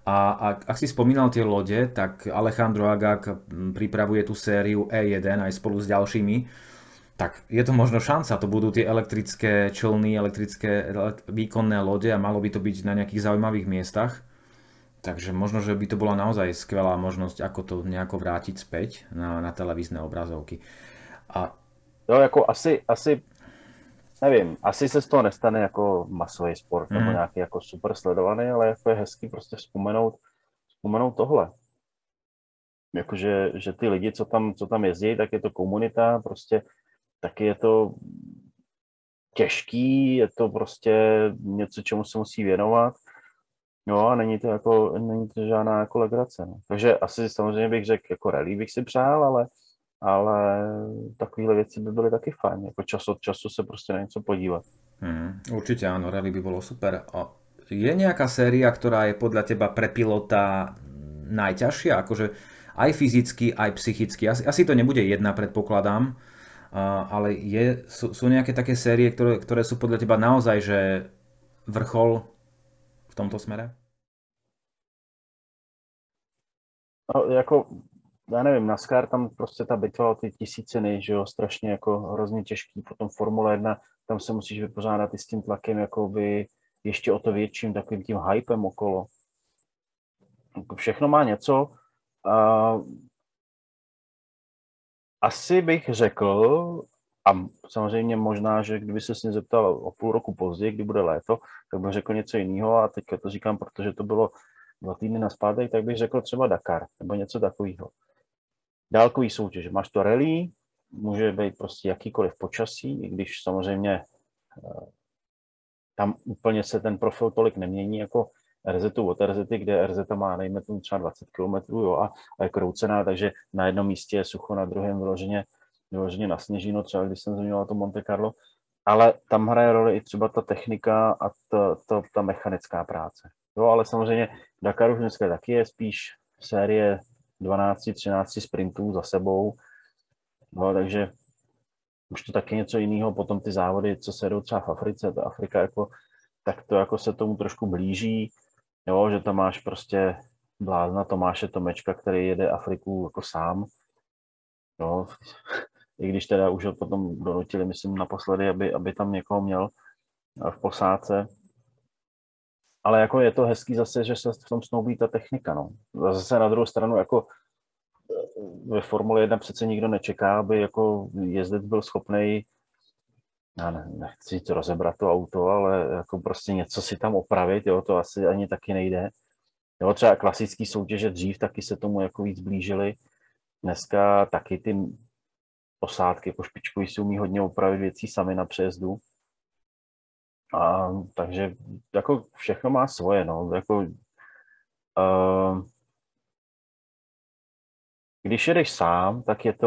A ak si spomínal tie lode, tak Alejandro Agag pripravuje tú sériu E1 aj spolu s ďalšími. Tak je to možno šanca, to budú tie elektrické člny, elektrické výkonné lode a malo by to byť na nejakých zaujímavých miestach. Takže možno, že by to bola naozaj skvelá možnosť, ako to nejako vrátiť späť na televízne obrazovky. A... Jo, jako asi nevím, asi se z toho nestane jako masový sport nebo nějaký jako super sledovaný, ale jako je hezký prostě vzpomenout tohle. Jakože, že ty lidi, co tam jezdí, tak je to komunita, prostě taky je to těžký, je to prostě něco, čemu se musí věnovat. No a není to žádná jako legrace. No. Takže asi samozřejmě bych řekl, jako rally bych si přál, ale takovéhle věci by byly taky fajn. Jako čas od času se prostě na něco podívat. Určite áno, rally by bolo super. A je nejaká séria, ktorá je podľa teba pre pilota najťažšia? Akože aj fyzicky, aj psychicky. Asi to nebude jedna, predpokladám. Ale sú nejaké také série, ktoré sú podľa teba naozaj že vrchol v tomto smere? No, jako, já nevím, NASCAR, tam prostě ta bitva o ty tisíciny, že jo, strašně jako hrozně těžký, potom Formule 1, tam se musíš vypořádat i s tím tlakem, jakoby ještě o to větším, takovým tím hypem okolo. Všechno má něco. Asi bych řekl, a samozřejmě možná, že kdyby se s ním zeptal o půl roku později, kdy bude léto, tak bych řekl něco jiného a teď to říkám, protože to bylo 2 týdny nazpátek, tak bych řekl třeba Dakar nebo něco takového. Dálkový soutěž. Máš to rally, může být prostě jakýkoliv počasí, i když samozřejmě tam úplně se ten profil tolik nemění jako RZ od RZ, kde RZ má nejme tomu třeba 20 km jo, a je kroucená, takže na jednom místě je sucho, na druhém vyloženě na sněžino, třeba když jsem zmiňoval to Monte Carlo, ale tam hraje roli i třeba ta technika a ta mechanická práce. Jo, ale samozřejmě Dakar už dneska taky je spíš série 12-13 sprintů za sebou, no, takže už to taky něco jiného. Potom ty závody, co se jdou třeba v Africe, ta Afrika jako, tak to jako se tomu trošku blíží, jo, že tam máš prostě blázna Tomáše Tomečka, který jede Afriku jako sám, no, i když teda už ho potom donutili, myslím, naposledy, aby tam někoho měl v posádce. Ale jako je to hezký zase, že se v tom snoubí ta technika, no. Zase na druhou stranu, jako ve Formule 1 přece nikdo nečeká, aby jako jezdec byl schopnej, já nechci to rozebrat to auto, ale jako prostě něco si tam opravit, jo, to asi ani taky nejde. Jo, třeba klasický soutěže dřív taky se tomu jako víc blížily. Dneska taky ty posádky jako špičkový si umí hodně opravit věcí sami na přejezdu. A takže jako všechno má svoje, no, jako když jedeš sám, tak je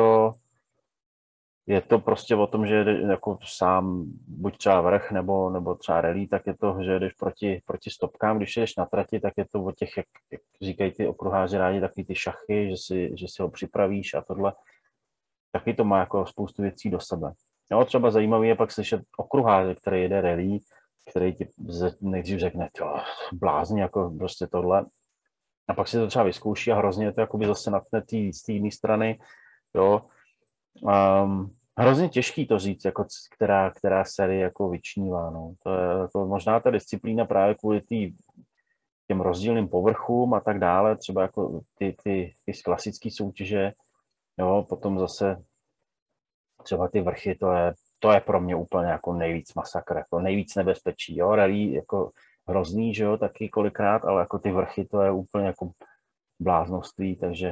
to prostě o tom, že jedeš jako sám, buď třeba vrch nebo třeba rally, tak je to, že jedeš proti stopkám. Když jedeš na trati, tak je to o těch, jak říkají ty okruháři rádi, takový ty šachy, že si ho připravíš a tohle. Taky to má jako spoustu věcí do sebe. Jo, třeba zajímavý je pak slyšet okruháře, který jede rally, který ti nejdřív řekne, blázni, jako prostě tohle. A pak si to třeba vyzkouší a hrozně to jakoby zase natne z té jiné strany, jo. Hrozně těžký to říct, jako která série jako vyčnívá, no. To je jako možná ta disciplína právě kvůli těm rozdílným povrchům a tak dále, třeba jako ty klasické soutěže, jo, potom zase třeba ty vrchy, to je pro mě úplně jako nejvíc masakr, jako nejvíc nebezpečí, jo, rally jako hrozný, že jo, taky kolikrát, ale jako ty vrchy, to je úplně jako bláznoství, takže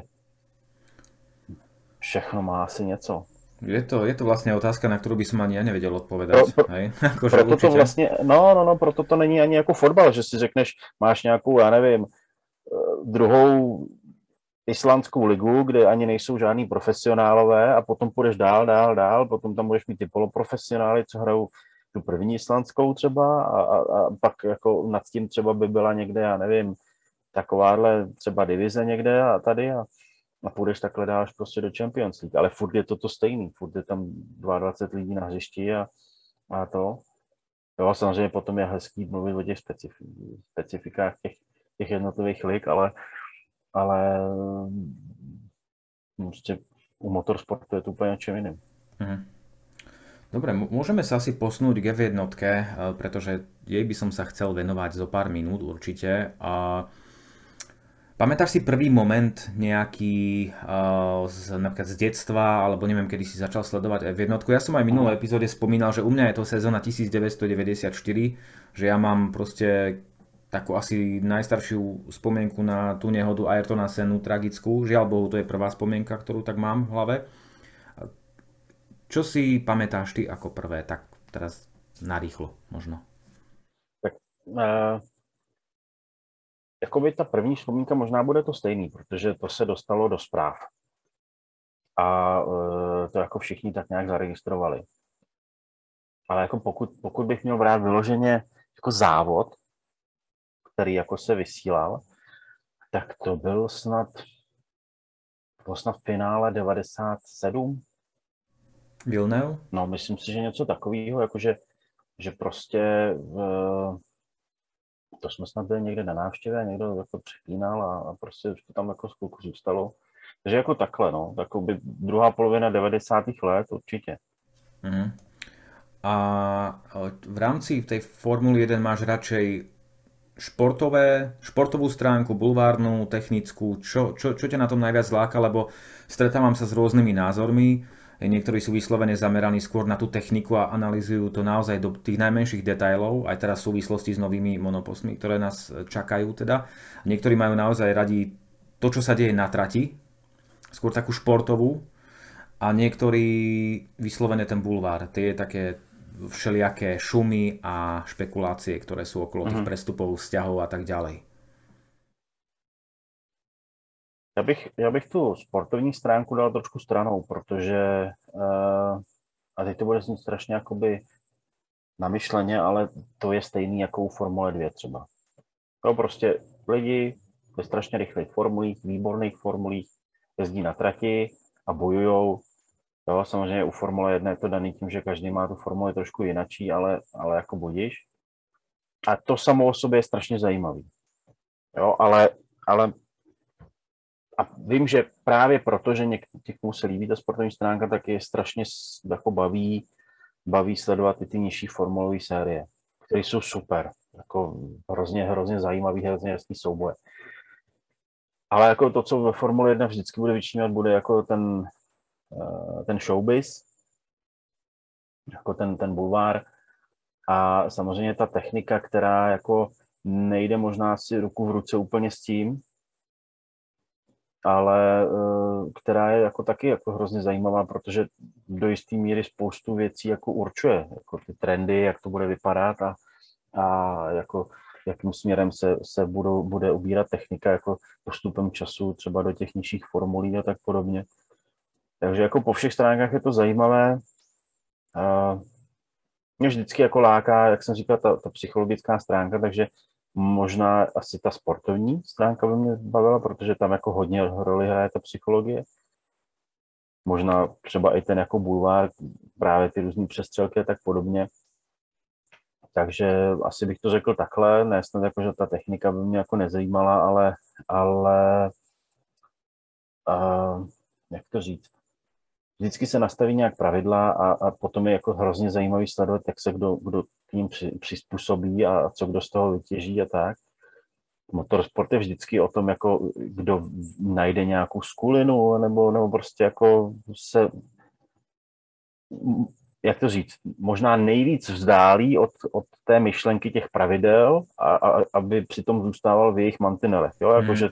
všechno má asi něco. Je to vlastne otázka, na ktorú by som ani ja nevedel odpovedať. Proto to vlastně, proto to není ani jako fotbal, že si řekneš, máš nějakou, já nevím, druhou islandskou ligu, kde ani nejsou žádný profesionálové a potom půjdeš dál, potom tam budeš mít ty poloprofesionály, co hrajou tu první islandskou třeba a pak jako nad tím třeba by byla někde, já nevím, takováhle třeba divize někde a tady a půjdeš takhle dál až prostě do Champions League, ale furt je to stejný, furt je tam 22 lidí na hřišti a to. Jo, samozřejmě potom je hezký mluvit o těch specifikách těch těch jednotlivých lig, ale prostě u motorsportu je to úplně čím jiným. Dobre, môžeme sa asi posnúť k F1, pretože jej by som sa chcel venovať zo pár minút určite. Pamätáš si prvý moment nejaký napríklad z detstva, alebo neviem, kedy si začal sledovať F1? Ja som aj v minulej epizóde spomínal, že u mňa je to sezóna 1994, že ja mám proste takú asi najstaršiu spomienku na tú nehodu Ayrtona Sennu, tragickú. Žiaľ Bohu, to je prvá spomienka, ktorú tak mám v hlave. Čo si pamätáš ty ako prvé, tak teraz narýchlo možno? Tak jakoby ta první vzpomínka možná bude to stejný, protože to se dostalo do zpráv. A to jako všichni tak nějak zaregistrovali. Ale jako pokud bych měl brát vyloženě jako závod, který jako se vysílal, tak to byl snad finále 97. Villeneuve? No, myslím si, že něco takového, jakože že prostě to jsme snad byli někde na návštěvě, někdo jako přepínal a prostě to tam jako chvilku zůstalo. Takže jako takhle, no, takový druhá polovina 90. let určitě. A v rámci tej Formuly 1 máš radšej športovú stránku, bulvárnu, technickú, čo ťa na tom najviac láka, lebo stretávam sa s rôznymi názormi, niektorí sú vyslovene zameraní skôr na tú techniku a analyzujú to naozaj do tých najmenších detailov, aj teraz v súvislosti s novými monoposmi, ktoré nás čakajú teda. Niektorí majú naozaj radi to, čo sa deje na trati, skôr takú športovú, a niektorí vyslovene ten bulvár, tie také všelijaké šumy a špekulácie, ktoré sú okolo tých prestupov, vzťahov a tak ďalej. Já bych tu sportovní stránku dal trošku stranou, protože a teď to bude znít strašně jakoby namyšleně, ale to je stejný jako u Formule 2 třeba. To prostě lidi ve strašně rychlých formulích, výborných formulích jezdí na trati a bojujou. Jo, samozřejmě u Formule 1 je to daný tím, že každý má tu formuli trošku jinačí, ale jako budíš. A to samo o sobě je strašně zajímavý. Jo, ale a vím, že právě proto, že někomu se líbí ta sportovní stránka, tak je strašně jako baví sledovat ty nižší formulové série, které jsou super, jako hrozně zajímavý, hrozně jasný souboje. Ale jako to, co ve Formule 1 vždycky bude vyčnívat, bude jako ten showbiz, jako ten bulvár a samozřejmě ta technika, která jako nejde možná si ruku v ruce úplně s tím, ale která je jako taky jako hrozně zajímavá, protože do jisté míry spoustu věcí jako určuje, jako ty trendy, jak to bude vypadat a jako jakým směrem se bude ubírat technika jako postupem času třeba do těch nižších formulí a tak podobně. Takže jako po všech stránkách je to zajímavé. Mě vždycky jako láká, jak jsem říkal, ta psychologická stránka, takže možná asi ta sportovní stránka by mě bavila, protože tam jako hodně roli hraje ta psychologie. Možná třeba i ten jako bulvár, právě ty různý přestřelky a tak podobně. Takže asi bych to řekl takhle, ne snad jako, že ta technika by mě jako nezajímala, ale jak to říct, vždycky se nastaví nějak pravidla a potom je jako hrozně zajímavý sledovat, jak se kdo k ním přizpůsobí a co kdo z toho vytěží a tak. Motorsport je vždycky o tom, jako kdo najde nějakou skulinu nebo prostě jako se, jak to říct, možná nejvíc vzdálí od té myšlenky těch pravidel a aby přitom zůstával v jejich mantinelech. Jo? Jakože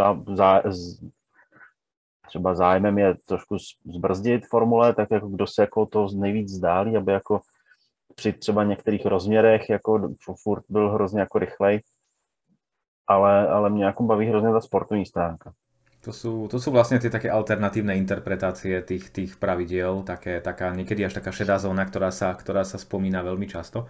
třeba zájmem je trošku zbrzdit formule, tak jako kdo se jako to nejvíc vzdálí, aby jako při třeba některých rozměrech jako furt byl hrozně jako rychlej, ale mě jako baví hrozně ta sportovní stránka. To sú vlastne tie také alternatívne interpretácie tých pravidiel, taká niekedy až taká šedá zóna, ktorá sa spomína veľmi často.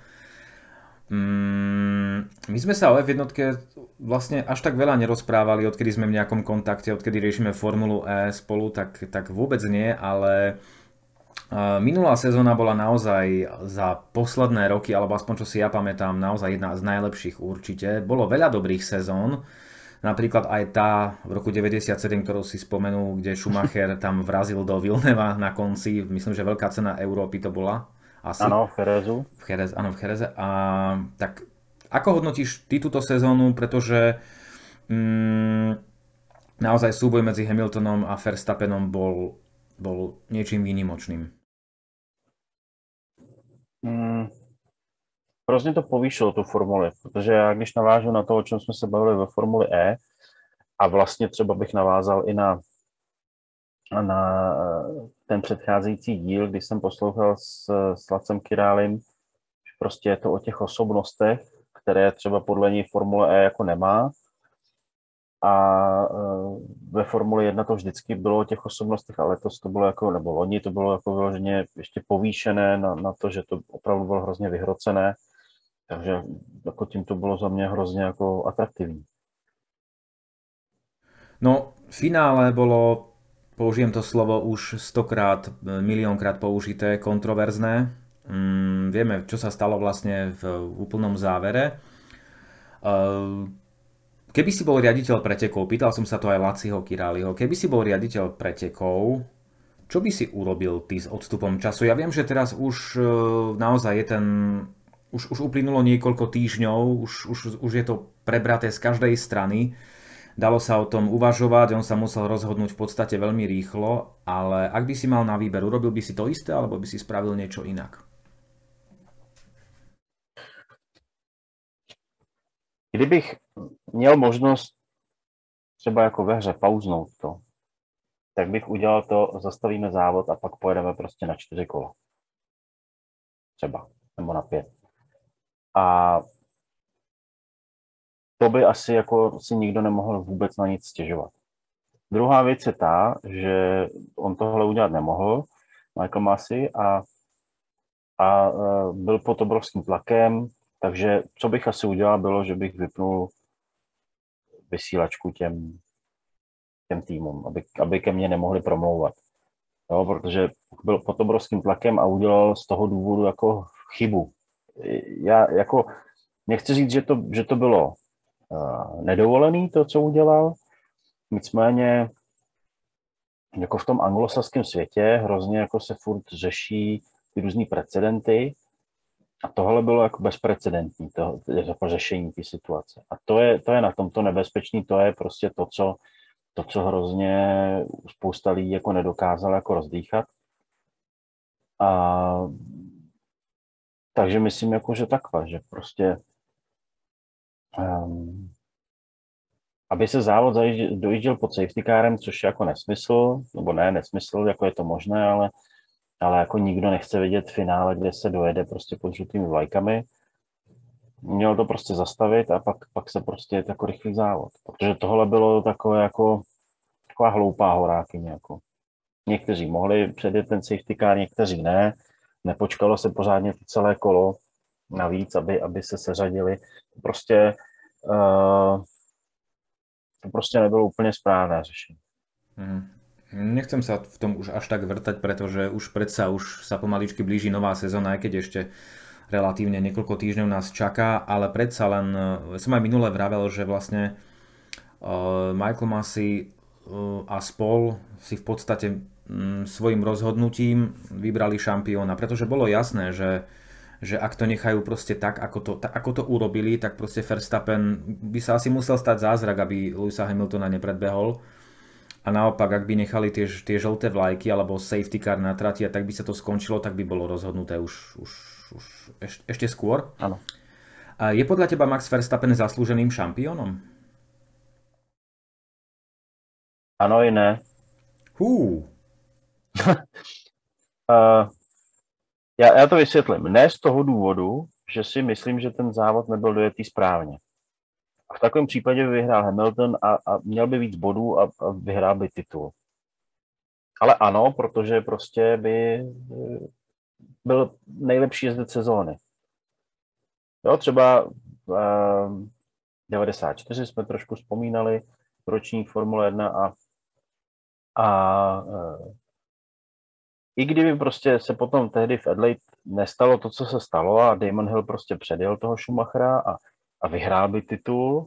My sme sa o F1 vlastne až tak veľa nerozprávali, odkedy sme v nejakom kontakte, odkedy riešime Formulu E spolu, tak vôbec nie, ale Minulá sezóna bola naozaj za posledné roky, alebo aspoň čo si ja pamätám, naozaj jedna z najlepších určite. Bolo veľa dobrých sezón, napríklad aj tá v roku 97, ktorú si spomenul, kde Schumacher tam vrazil do Vilneva na konci, myslím, že veľká cena Európy to bola asi. Ano, v Cherezu. Áno, v Chereze. Tak ako hodnotíš ty túto sezónu, pretože naozaj súboj medzi Hamiltonom a Verstappenom bol niečím výnimočným. Hrozně to povýšilo tu formuli, protože já když navážu na to, o čem jsme se bavili ve Formuli E, a vlastně třeba bych navázal i na ten předcházející díl, když jsem poslouchal s Lacem Királem, že prostě je to o těch osobnostech, které třeba podle něj Formule E jako nemá. A ve Formuli 1 to vždycky bylo o těch osobnostech, ale letos to bylo jako, nebo loni to bylo jako vyloženě ještě povýšené na to, že to opravdu bylo hrozně vyhrocené. Takže jako tím to bylo za mě hrozně jako atraktivní. No, v finále bolo, použijem to slovo už 100-krát, miliónkrát použité, kontroverzné. Vieme, čo sa stalo vlastne v úplnom závere. Keby si bol riaditeľ pretekov, pýtal som sa to aj Laciho Királiho, keby si bol riaditeľ pretekov, čo by si urobil ty s odstupom času? Ja viem, že teraz už naozaj je ten... Už uplynulo niekoľko týždňov, už je to prebraté z každej strany. Dalo sa o tom uvažovať, on sa musel rozhodnúť v podstate veľmi rýchlo, ale ak by si mal na výber, urobil by si to isté, alebo by si spravil niečo inak? Kdybych měl možnost třeba jako ve hře pauznout to, tak bych udělal to, zastavíme závod a pak pojedeme prostě na 4 kola. Třeba, nebo na 5. A to by asi jako si nikdo nemohl vůbec na nic stěžovat. Druhá věc je ta, že on tohle udělat nemohl, Michael Masi, a byl pod obrovským tlakem, takže co bych asi udělal, bylo, že bych vypnul vysílačku těm týmům, aby ke mně nemohli promlouvat. Jo, protože byl pod obrovským tlakem a udělal z toho důvodu jako chybu. Já jako nechci říct, že to bylo nedovolený, to, co udělal, nicméně jako v tom anglosaském světě hrozně jako se furt řeší ty různý precedenty a tohle bylo jako bezprecedentní, to řešení té situace. A to je na tomto nebezpečný, to je prostě to, co hrozně spousta lidí jako nedokázala jako rozdýchat. Takže myslím, jako, že takhle, že prostě aby se závod dojížděl pod safety carem, což je jako nesmysl, nebo ne nesmysl, jako je to možné, ale jako nikdo nechce vidět finále, kde se dojede prostě pod žlutými vlajkami. Měl to prostě zastavit a pak se prostě je jako rychlý závod. Protože tohle bylo takové jako taková hloupá horákyně. Jako. Někteří mohli předjet ten safety car, někteří ne. Nepočkalo se pořádně to celé kolo navíc, aby se seřadili. To prostě nebylo úplně správné řešení. Nechcem sa v tom už až tak vrtať, pretože už sa pomaličky blíži nová sezóna, aj keď ešte relatívne niekoľko týždňov nás čaká, ale predsa len som aj minule vravel, že vlastne Michael Masi a spol si v podstate svojim rozhodnutím vybrali šampióna, pretože bolo jasné, že ak to nechajú proste tak, ako to urobili, tak proste Verstappen by sa asi musel stať zázrak, aby Lewisa Hamiltona nepredbehol. A naopak, ak by nechali tie žlté vlajky alebo safety car na trati, tak by sa to skončilo, tak by bolo rozhodnuté už ešte skôr. Áno. Je podľa teba Max Verstappen zaslúženým šampiónom? Ano i ne. Já to vysvětlím. Ne z toho důvodu, že si myslím, že ten závod nebyl dojetý správně. A v takovém případě by vyhrál Hamilton a měl by víc bodů a vyhrál by titul. Ale ano, protože prostě by byl nejlepší jezdec sezóny. Jo, třeba 94 jsme trošku vzpomínali, ročník Formule 1 a i kdyby prostě se potom tehdy v Adelaide nestalo to, co se stalo a Damon Hill prostě předjel toho Schumachera a vyhrál by titul,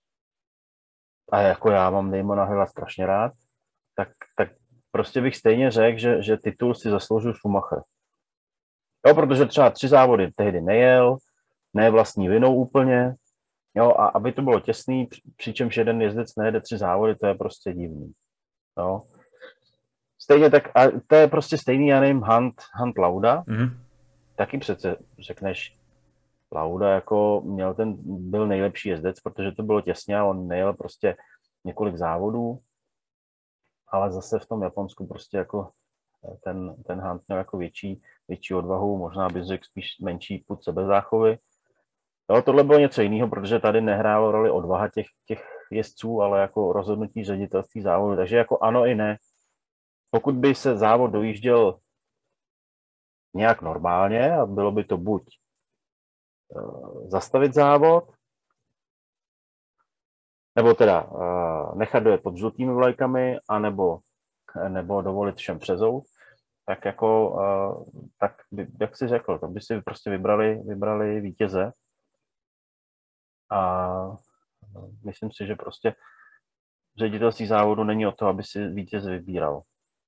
a jako já mám Damona Hilla strašně rád, tak prostě bych stejně řekl, že titul si zasloužil Schumacher. Jo, protože třeba 3 závody tehdy nejel, ne vlastní vinou úplně, jo, a aby to bylo těsný, přičemž jeden jezdec nejede 3 závody, to je prostě divný. Jo. Stejně tak, a to je prostě stejný, já nevím, Hunt Lauda, taky přece řekneš, Lauda jako byl nejlepší jezdec, protože to bylo těsně a on nejel prostě několik závodů, ale zase v tom Japonsku prostě jako ten Hunt měl jako větší odvahu, možná bych řekl spíš menší pud sebezáchovy. Jo, tohle bylo něco jiného, protože tady nehrálo roli odvaha těch jezdců, ale jako rozhodnutí ředitelství závodu. Takže jako ano i ne. Pokud by se závod dojížděl nějak normálně a bylo by to buď zastavit závod, nebo teda nechat dojet pod žlutými vlajkami, anebo dovolit všem přezout, tak jako, tak jak jsi řekl, to by si prostě vybrali vítěze. A myslím si, že prostě ředitelství závodu není o to, aby si vítěze vybíral.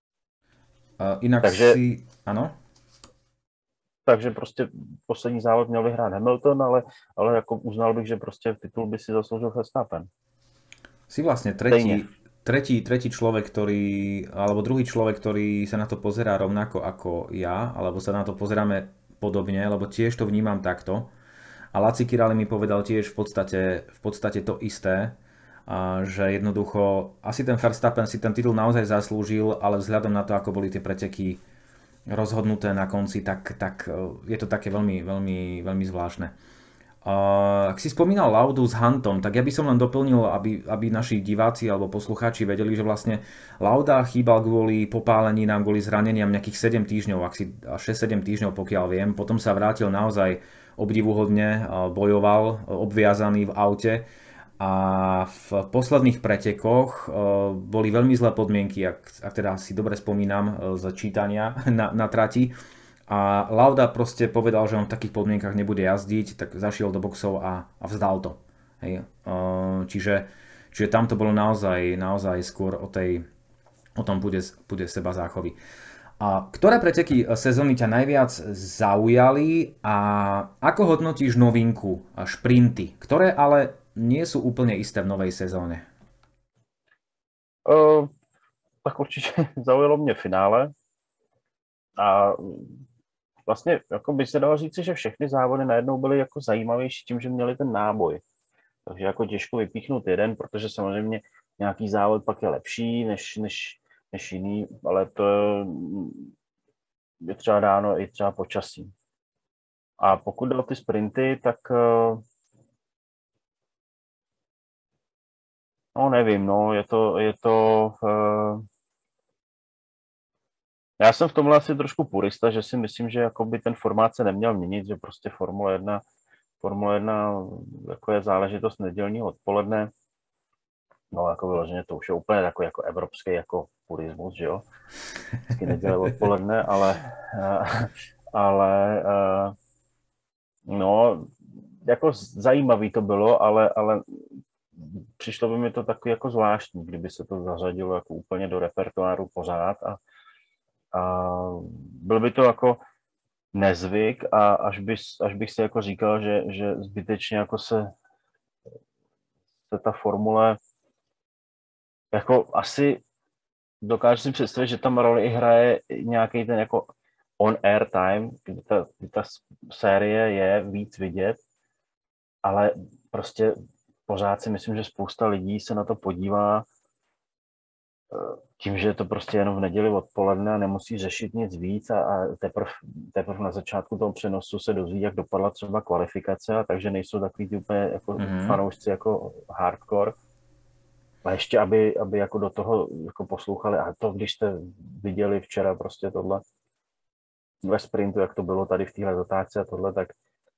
Ano? Takže prostě poslední závod měl vyhrát Hamilton, ale jako uznal bych, že prostě titul by si zasloužil Verstappen. Si vlastne tretí človek, alebo druhý človek, ktorý sa na to pozerá rovnako ako ja, alebo sa na to pozeráme podobne, lebo tiež to vnímam takto. A Laci Kirali mi povedal tiež v podstate to isté, že jednoducho asi ten Verstappen si ten titul naozaj zaslúžil, ale vzhľadom na to, ako boli tie preteky rozhodnuté na konci, tak je to také veľmi, veľmi, veľmi zvláštne. Ak si spomínal Laudu s Huntom, tak ja by som len doplnil, aby naši diváci alebo poslucháči vedeli, že vlastne Lauda chýbal kvôli popáleninám, kvôli zraneniam nejakých 7 týždňov, 6-7 týždňov pokiaľ viem. Potom sa vrátil naozaj obdivuhodne, bojoval obviazaný v aute a v posledných pretekoch boli veľmi zlé podmienky, ak teda si dobre spomínam z čítania na trati. A Lauda proste povedal, že on v takých podmienkach nebude jazdiť, tak zašiel do boxov a vzdal to. Hej. Čiže tam to bolo naozaj skôr o tom bude seba záchovy. A ktoré preteky sezóny ťa najviac zaujali a ako hodnotíš novinku a šprinty, ktoré ale nie sú úplne isté v novej sezóne? Tak určitě zaujalo mě finále a vlastně jako by se dalo říci, že všechny závody najednou byly jako zajímavější tím, že měli ten náboj. Takže jako těžko vypíchnout jeden, protože samozřejmě nějaký závod pak je lepší než jiný, ale to je třeba dáno i třeba počasí. A pokud jde o ty sprinty, tak no nevím, no, je to já jsem v tomhle asi trošku purista, že si myslím, že jakoby ten formát se neměl měnit, že prostě Formule 1 jako je záležitost nedělního odpoledne. No jako vyloženě to už je úplně takový jako evropský jako purismus, že jo. Vždycky neděle odpoledne, ale no jako zajímavý to bylo, ale přišlo by mi to takový jako zvláštní, kdyby se to zařadilo jako úplně do repertoáru pořád a byl by to jako nezvyk a až bych si jako říkal, že zbytečně jako se ta formule jako asi dokážu si představit, že tam roli i hraje nějaký ten jako on-air time, kdy ta série je víc vidět, ale prostě pořád si myslím, že spousta lidí se na to podívá tím, že je to prostě jenom v neděli odpoledne a nemusí řešit nic víc a teprve na začátku toho přenosu se dozví, jak dopadla třeba kvalifikace, a takže nejsou takový ty úplně jako fanoušci jako hardcore. A ještě, aby jako do toho jako poslouchali, a to když jste viděli včera prostě tohle ve sprintu, jak to bylo tady v téhle zatáčce a tohle, tak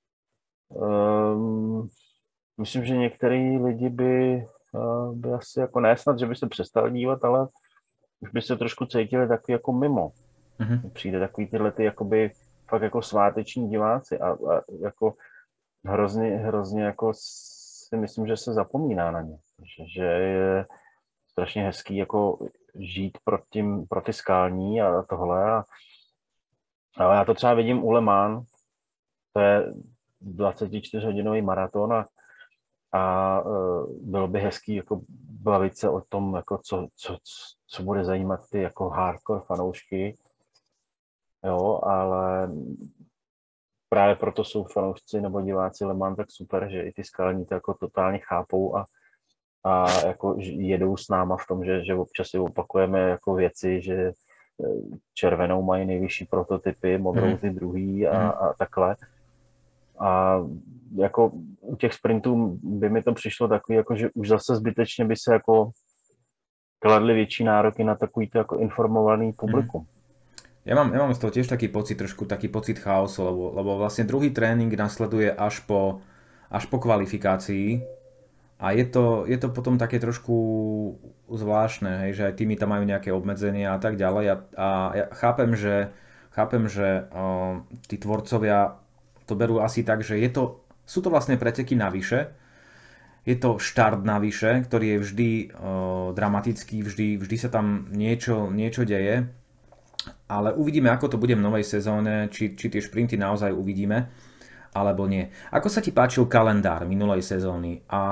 myslím, že některý lidi by asi jako ne snad, že by se přestali dívat, ale už by se trošku cítili takový jako mimo. Přijde takový tyhle ty jakoby fakt jako sváteční diváci a jako hrozně jako si myslím, že se zapomíná na ně. Že je strašně hezký jako žít pro ty skalní a tohle. Ale já to třeba vidím u Le Mans, to je 24-hodinový maraton a bylo by hezký jako bavit se o tom, jako co bude zajímat ty jako hardcore fanoušky. Jo, ale právě proto jsou fanoušci nebo diváci Le Mans tak super, že i ty skalní to jako totálně chápou a jako jedou s náma v tom, že občas si opakujeme jako věci, že červenou mají nejvyšší prototypy, modrou ty druhý a takhle. A jako u těch sprintů by mi to přišlo takový, jako, že už zase zbytečně by se jako kladly větší nároky na takový to jako informovaný publikum. Ja mám z toho tiež trošku taký pocit chaosu, lebo vlastne druhý tréning nasleduje až po kvalifikácii a je to potom také trošku zvláštne, hej, že aj tými tam majú nejaké obmedzenia a tak ďalej a ja chápem, že tí tvorcovia to berú asi tak, že sú to vlastne preteky navyše, je to štart navyše, ktorý je vždy dramatický, vždy sa tam niečo deje, ale uvidíme, ako to bude v novej sezóne, či tie šprinty naozaj uvidíme, alebo nie. Ako sa ti páčil kalendár minulej sezóny? A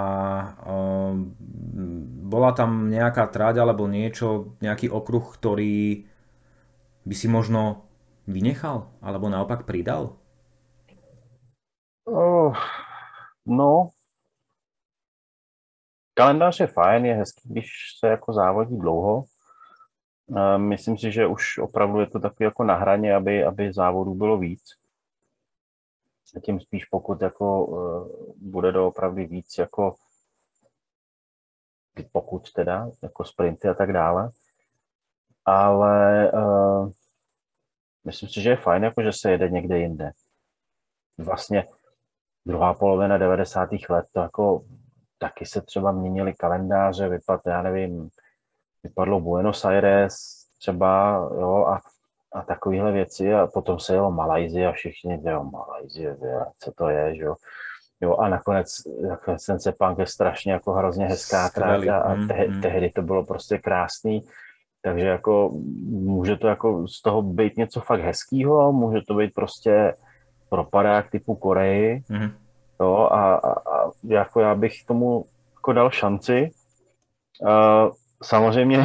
bola tam nejaká trať alebo nejaký okruh, ktorý by si možno vynechal, alebo naopak pridal? No, kalendář je fajn, je hezký, když se jako závodí dlouho. Myslím si, že už opravdu je to takový jako na hraně, aby závodů bylo víc. A tím spíš pokud jako bude doopravdy víc jako pokud teda, jako sprinty a tak dále. Ale myslím si, že je fajn, jako že se jede někde jinde. Vlastně druhá polovina 90. let, to jako taky se třeba měnily kalendáře, vypadlo Buenos Aires třeba, jo, a takovéhle věci a potom se jelo Malajzie a všichni, jo, Malajzie, co to je, že jo. Jo, a nakonec ten Sepang je strašně jako hrozně hezká trať a tehdy to bylo prostě krásný, takže jako může to jako z toho být něco fakt hezkýho, může to být prostě propadák typu Koreji, jo, a jako já bych tomu jako dal šanci. Samozřejmě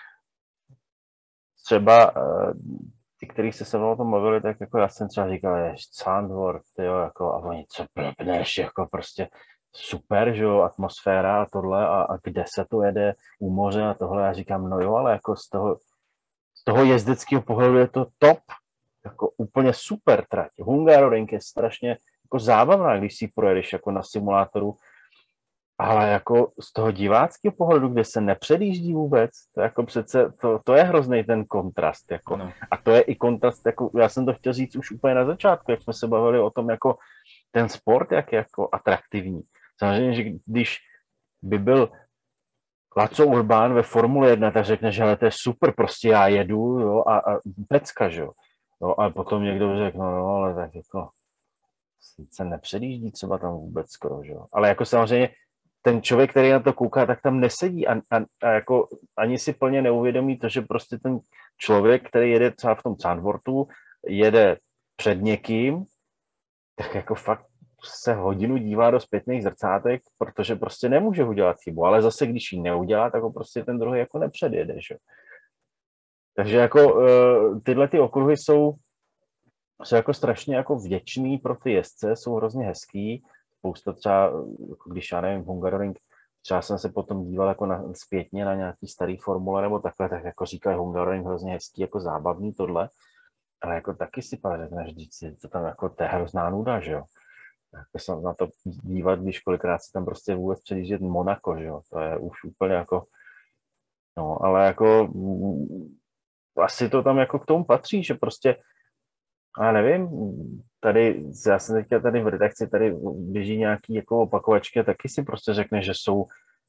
třeba ty, kteří se mnou o tom mluvili, tak jako já jsem třeba říkal, Zandvoort, jo, jako, a oni co blbneš, jako prostě super, že jo, atmosféra a tohle a kde se to jede u moře a tohle, já říkám, no jo, ale jako z toho jezdeckého pohledu je to top, jako úplně super trať. Hungaroring je strašně jako zábavná, když si projedeš jako na simulátoru, ale jako z toho diváckého pohledu, kde se nepředjíždí vůbec, to jako přece, to je hrozný ten kontrast, jako. No. A to je i kontrast, jako, já jsem to chtěl říct už úplně na začátku, jak jsme se bavili o tom, jako ten sport, jak je jako atraktivní. Samozřejmě, že když by byl Laco Urbán ve Formule 1, tak řekne, že hele, to je super, prostě já jedu, jo, a pecka, že jo. No, a potom někdo řekne, no, ale tak jako se nepředjíždí třeba tam vůbec skoro, že jo. Ale jako samozřejmě ten člověk, který na to kouká, tak tam nesedí a jako ani si plně neuvědomí to, že prostě ten člověk, který jede třeba v tom Zandvoortu, jede před někým, tak jako fakt se hodinu dívá do zpětných zrcátek, protože prostě nemůže udělat chybu, ale zase když ji neudělá, tak ho prostě ten druhý jako nepředjede, že? Takže jako tyhle ty okruhy jsou jako strašně jako vděčný pro ty jezdce, jsou hrozně hezký. Spousta třeba, jako když já nevím, Hungaroring, třeba jsem se potom díval jako zpětně na nějaký starý formule nebo takhle, tak jako říkají Hungaroring hrozně hezký, jako zábavný tohle, ale jako taky si pak řekneš, že to tam jako to je hrozná nuda, že jo. Jako se na to dívat, když kolikrát si tam prostě vůbec předjíždět Monako, že jo, to je už úplně jako, no, ale jako asi to tam jako k tomu patří, že prostě já nevím, já jsem teďka tady v redakci, tady běží nějaký jako opakovačky a taky si prostě řekne, že jsou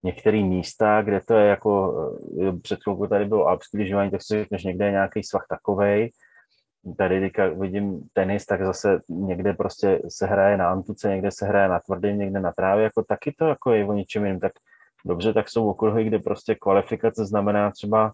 některé místa, kde to je jako, před chvilkou tady bylo alpský lyžování, tak si řekneš, někde je nějaký svah takovej. Tady teďka vidím tenis, tak zase někde prostě se hraje na antuce, někde se hraje na tvrdém, někde na trávě, jako taky to jako je o ničem jiným. Tak dobře, tak jsou okruhy, kde prostě kvalifikace znamená třeba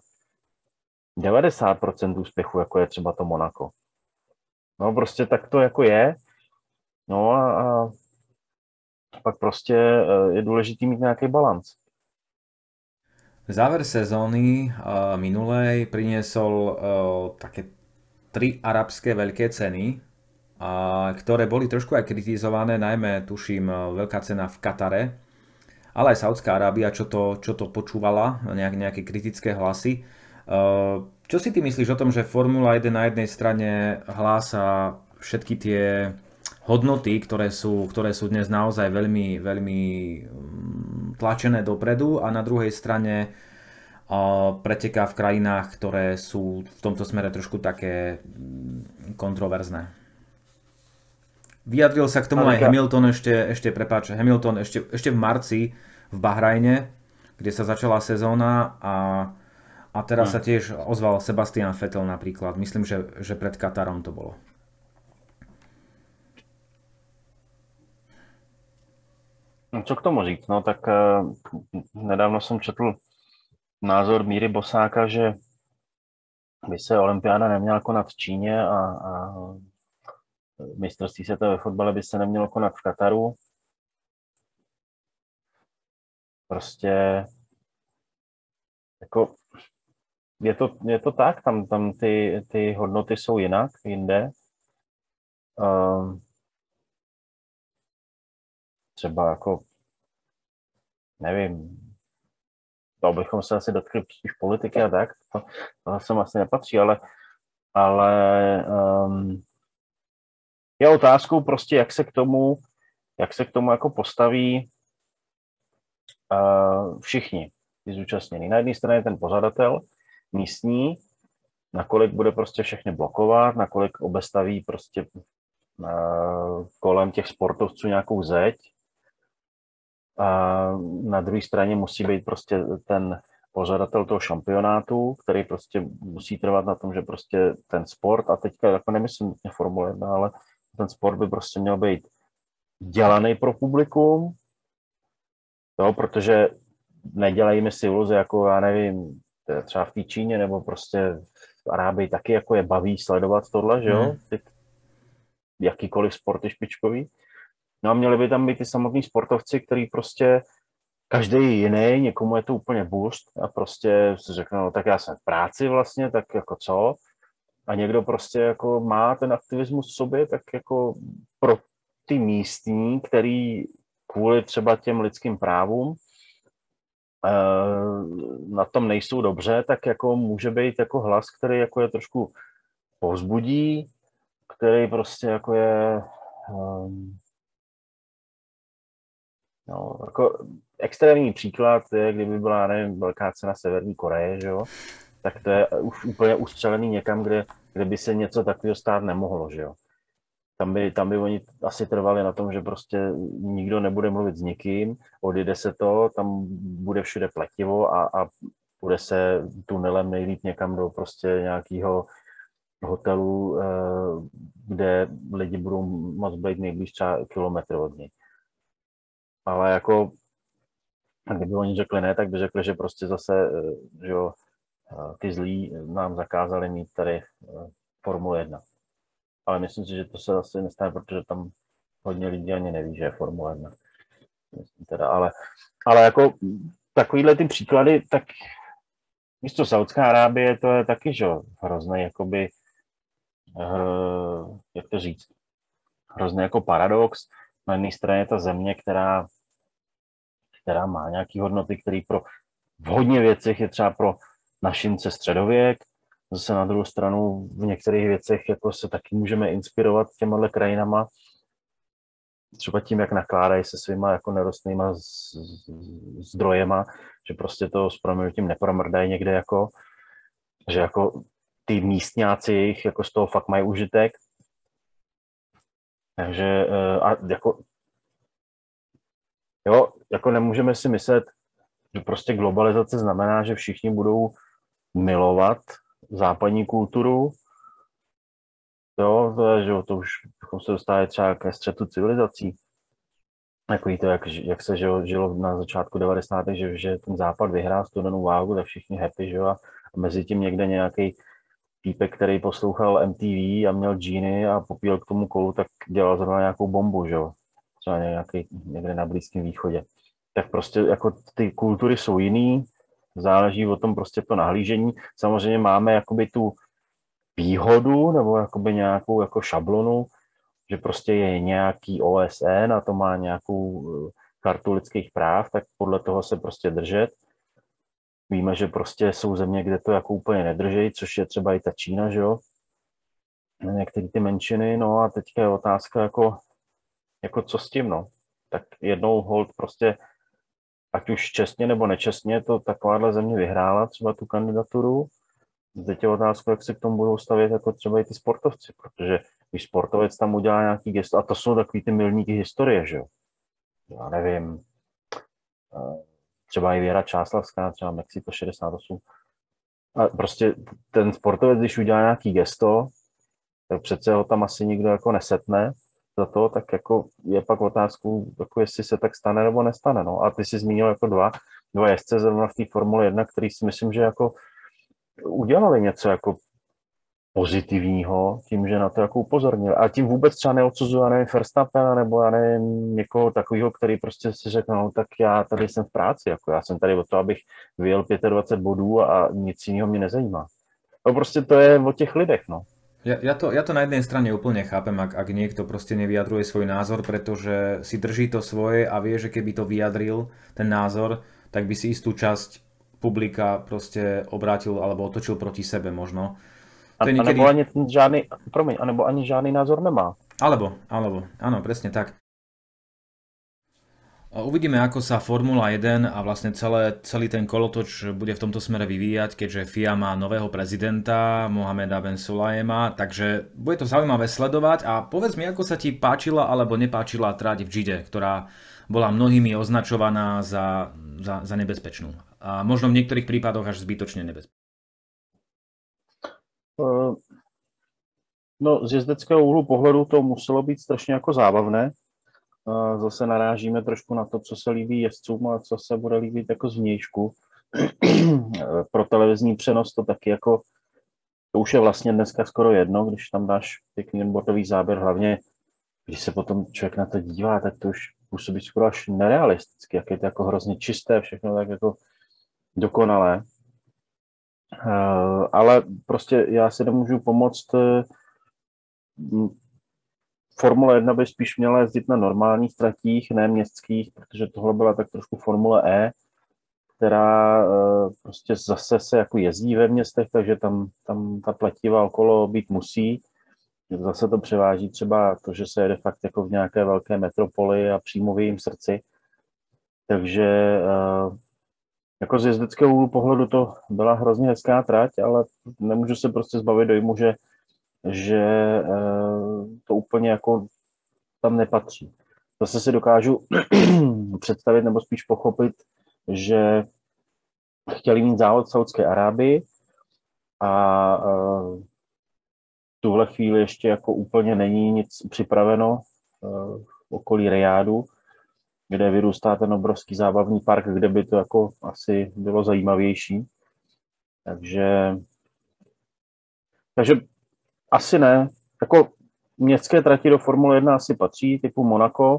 90% úspěchu, jako je třeba to Monako. No prostě tak to jako je. No a pak prostě je důležitý mít nějaký balans. Záver sezóny minulej priniesol také 3 arabské veľké ceny, ktoré boli trošku aj kritizované, najmä tuším veľká cena v Katare, ale aj Saudská Arábia, čo to počúvala, nejaké kritické hlasy. Čo si ty myslíš o tom, že Formula 1 na jednej strane hlása všetky tie hodnoty, ktoré sú dnes naozaj veľmi, veľmi tlačené dopredu a na druhej strane preteká v krajinách, ktoré sú v tomto smere trošku také kontroverzné. Vyjadril sa k tomu aj Hamilton Hamilton ešte v marci v Bahrajne, kde sa začala sezóna a teraz sa tiež ozval Sebastian Vettel napríklad. Myslím, že pred Katarom to bolo. Co k tomu říct? No tak nedávno jsem četl názor Míry Bosáka, že by se olympiáda neměla konat v Číně a mistrovství světa ve fotbale by se nemělo konat v Kataru. Prostě jako je to tak, tam ty hodnoty jsou jinak, jinde. Třeba jako, nevím, to bychom se asi dotkli spíš politiky a tak, to sem asi nepatří, ale je otázkou prostě, jak se k tomu jako postaví všichni ty zúčastnění. Na jedné straně ten pořadatel místní, nakolik bude prostě všechny blokovat, nakolik obestaví prostě kolem těch sportovců nějakou zeď. A na druhé straně musí být prostě ten pořadatel toho šampionátu, který prostě musí trvat na tom, že prostě ten sport, a teďka jako nemyslím Formule 1, ale ten sport by prostě měl být dělaný pro publikum, jo, protože nedělejme si iluze, jako já nevím, třeba v té Číně nebo prostě v Arábii taky jako je baví sledovat tohle, že jo, jakýkoliv sport je špičkový. No a měli by tam být ty samotní sportovci, který prostě každý je jiný, někomu je to úplně boost a prostě si řekne, no tak já jsem v práci vlastně, tak jako co? A někdo prostě jako má ten aktivismus v sobě, tak jako pro ty místní, který kvůli třeba těm lidským právům na tom nejsou dobře, tak jako může být jako hlas, který jako je trošku povzbudí, který prostě jako je no, jako extrémní příklad je, kdyby byla, nevím, velká cena Severní Koreje, že jo, tak to je už úplně ustřelený někam, kde by se něco takového stát nemohlo, že jo. Tam by oni asi trvali na tom, že prostě nikdo nebude mluvit s nikým, odjede se to, tam bude všude pletivo a bude se tunelem nejlíp někam do prostě nějakého hotelu, kde lidi budou moc být nejblíž třeba kilometr od něj. Ale jako, kdyby oni řekli ne, tak by řekli, že prostě zase, že jo, ty zlí nám zakázali mít tady Formule 1. Ale myslím si, že to se asi nestane, protože tam hodně lidí ani neví, že je Formule 1. Teda, ale jako takovýhle ty příklady, tak místo Saudská Arábie, to je taky, že hrozný, jakoby, jak to říct, hrozný jako paradox. Na jedné straně ta země, která má nějaké hodnoty, které v hodně věcech je třeba pro našince středověk. Zase na druhou stranu v některých věcech jako se taky můžeme inspirovat těmahle krajinama. Třeba tím, jak nakládají se svýma jako nerostnýma zdrojema, že prostě to s proměnutím nepromrdají někde jako, že jako ty místňáci jejich jako z toho fakt mají užitek. Takže a jako jo, jako nemůžeme si myslet, že prostě globalizace znamená, že všichni budou milovat západní kulturu. Jo, to už bychom se dostali třeba ke střetu civilizací. Takový to, jak se žilo na začátku 90. že ten západ vyhrál studenou válku, tak všichni happy, že jo, a mezi tím někde nějaký týpek, který poslouchal MTV a měl džíny a popíl k tomu kolu, tak dělal zrovna nějakou bombu, že jo, třeba někde na Blízkém východě. Tak prostě jako ty kultury jsou jiný, záleží o tom prostě to nahlížení. Samozřejmě máme jakoby tu výhodu nebo jakoby nějakou jako šablonu, že prostě je nějaký OSN a to má nějakou chartu lidských práv, tak podle toho se prostě držet. Víme, že prostě jsou země, kde to jako úplně nedrží, což je třeba i ta Čína, že jo? Některé ty menšiny, no a teďka je otázka jako co s tím, no. Tak jednou hold prostě, ať už čestně nebo nečestně, to takováhle země vyhrála třeba tu kandidaturu. Teď je otázka, jak se k tomu budou stavět jako třeba i ty sportovci, protože když sportovec tam udělá nějaký gesto, a to jsou takový ty milníky historie, že jo. Já nevím, třeba i Věra Čáslavská, třeba Mexiko 68. A prostě ten sportovec, když udělá nějaký gesto, tak přece ho tam asi nikdo jako nesetne za to, tak jako je pak otázku, jako jestli se tak stane nebo nestane. No. A ty jsi zmínil jako dva jezdce zrovna v té Formule 1, který si myslím, že jako udělali něco jako pozitivního tím, že na to jako upozornil. A tím vůbec třeba neodsuzuju, já nevím, Verstappena nebo já nevím, někoho takového, který prostě si řekl, no tak já tady jsem v práci, jako já jsem tady o to, abych vyjel 25 bodů a nic jiného mě nezajímá. No prostě to je o těch lidech, no. Ja to na jednej strane úplne chápem, ak niekto proste nevyjadruje svoj názor, pretože si drží to svoje a vie, že keby to vyjadril, ten názor, tak by si istú časť publika proste obrátil alebo otočil proti sebe možno. To je niekedy... Anebo ani žádný názor nemá. Alebo, áno, presne tak. Uvidíme, ako sa Formula 1 a vlastne celý ten kolotoč bude v tomto smere vyvíjať, keďže FIA má nového prezidenta, Mohameda Ben Sulayema, takže bude to zaujímavé sledovať a povedz mi, ako sa ti páčila alebo nepáčila trať v Džide, ktorá bola mnohými označovaná za nebezpečnú. A možno v niektorých prípadoch až zbytočne nebezpečnú. No, z jezdeckého úhlu pohledu to muselo být strašně jako zábavné. Zase narážíme trošku na to, co se líbí jezdcům a co se bude líbit jako zvnějšku. Pro televizní přenos to taky jako, to už je vlastně dneska skoro jedno, když tam dáš pěkný botový záběr, hlavně když se potom člověk na to dívá, tak to už působí skoro až nerealisticky, jak je to jako hrozně čisté, všechno tak jako dokonalé. Ale prostě já si nemůžu pomoct. Formule 1 by spíš měla jezdit na normálních tratích, ne městských, protože tohle byla tak trošku Formule E, která prostě zase se jako jezdí ve městech, takže tam ta pletiva okolo být musí. Zase to převáží třeba to, že se jede fakt jako v nějaké velké metropoli a přímo v jejím srdci. Takže jako z jezdeckého úhlu pohledu to byla hrozně hezká trať, ale nemůžu se prostě zbavit dojmu, že to úplně jako tam nepatří. Zase si dokážu představit nebo spíš pochopit, že chtěli mít závod v Saudské Arábii a v tuhle chvíli ještě jako úplně není nic připraveno v okolí Rijádu, kde vyrůstá ten obrovský zábavní park, kde by to jako asi bylo zajímavější. Takže asi ne. Jako městské trati do Formule 1 asi patří, typu Monaco,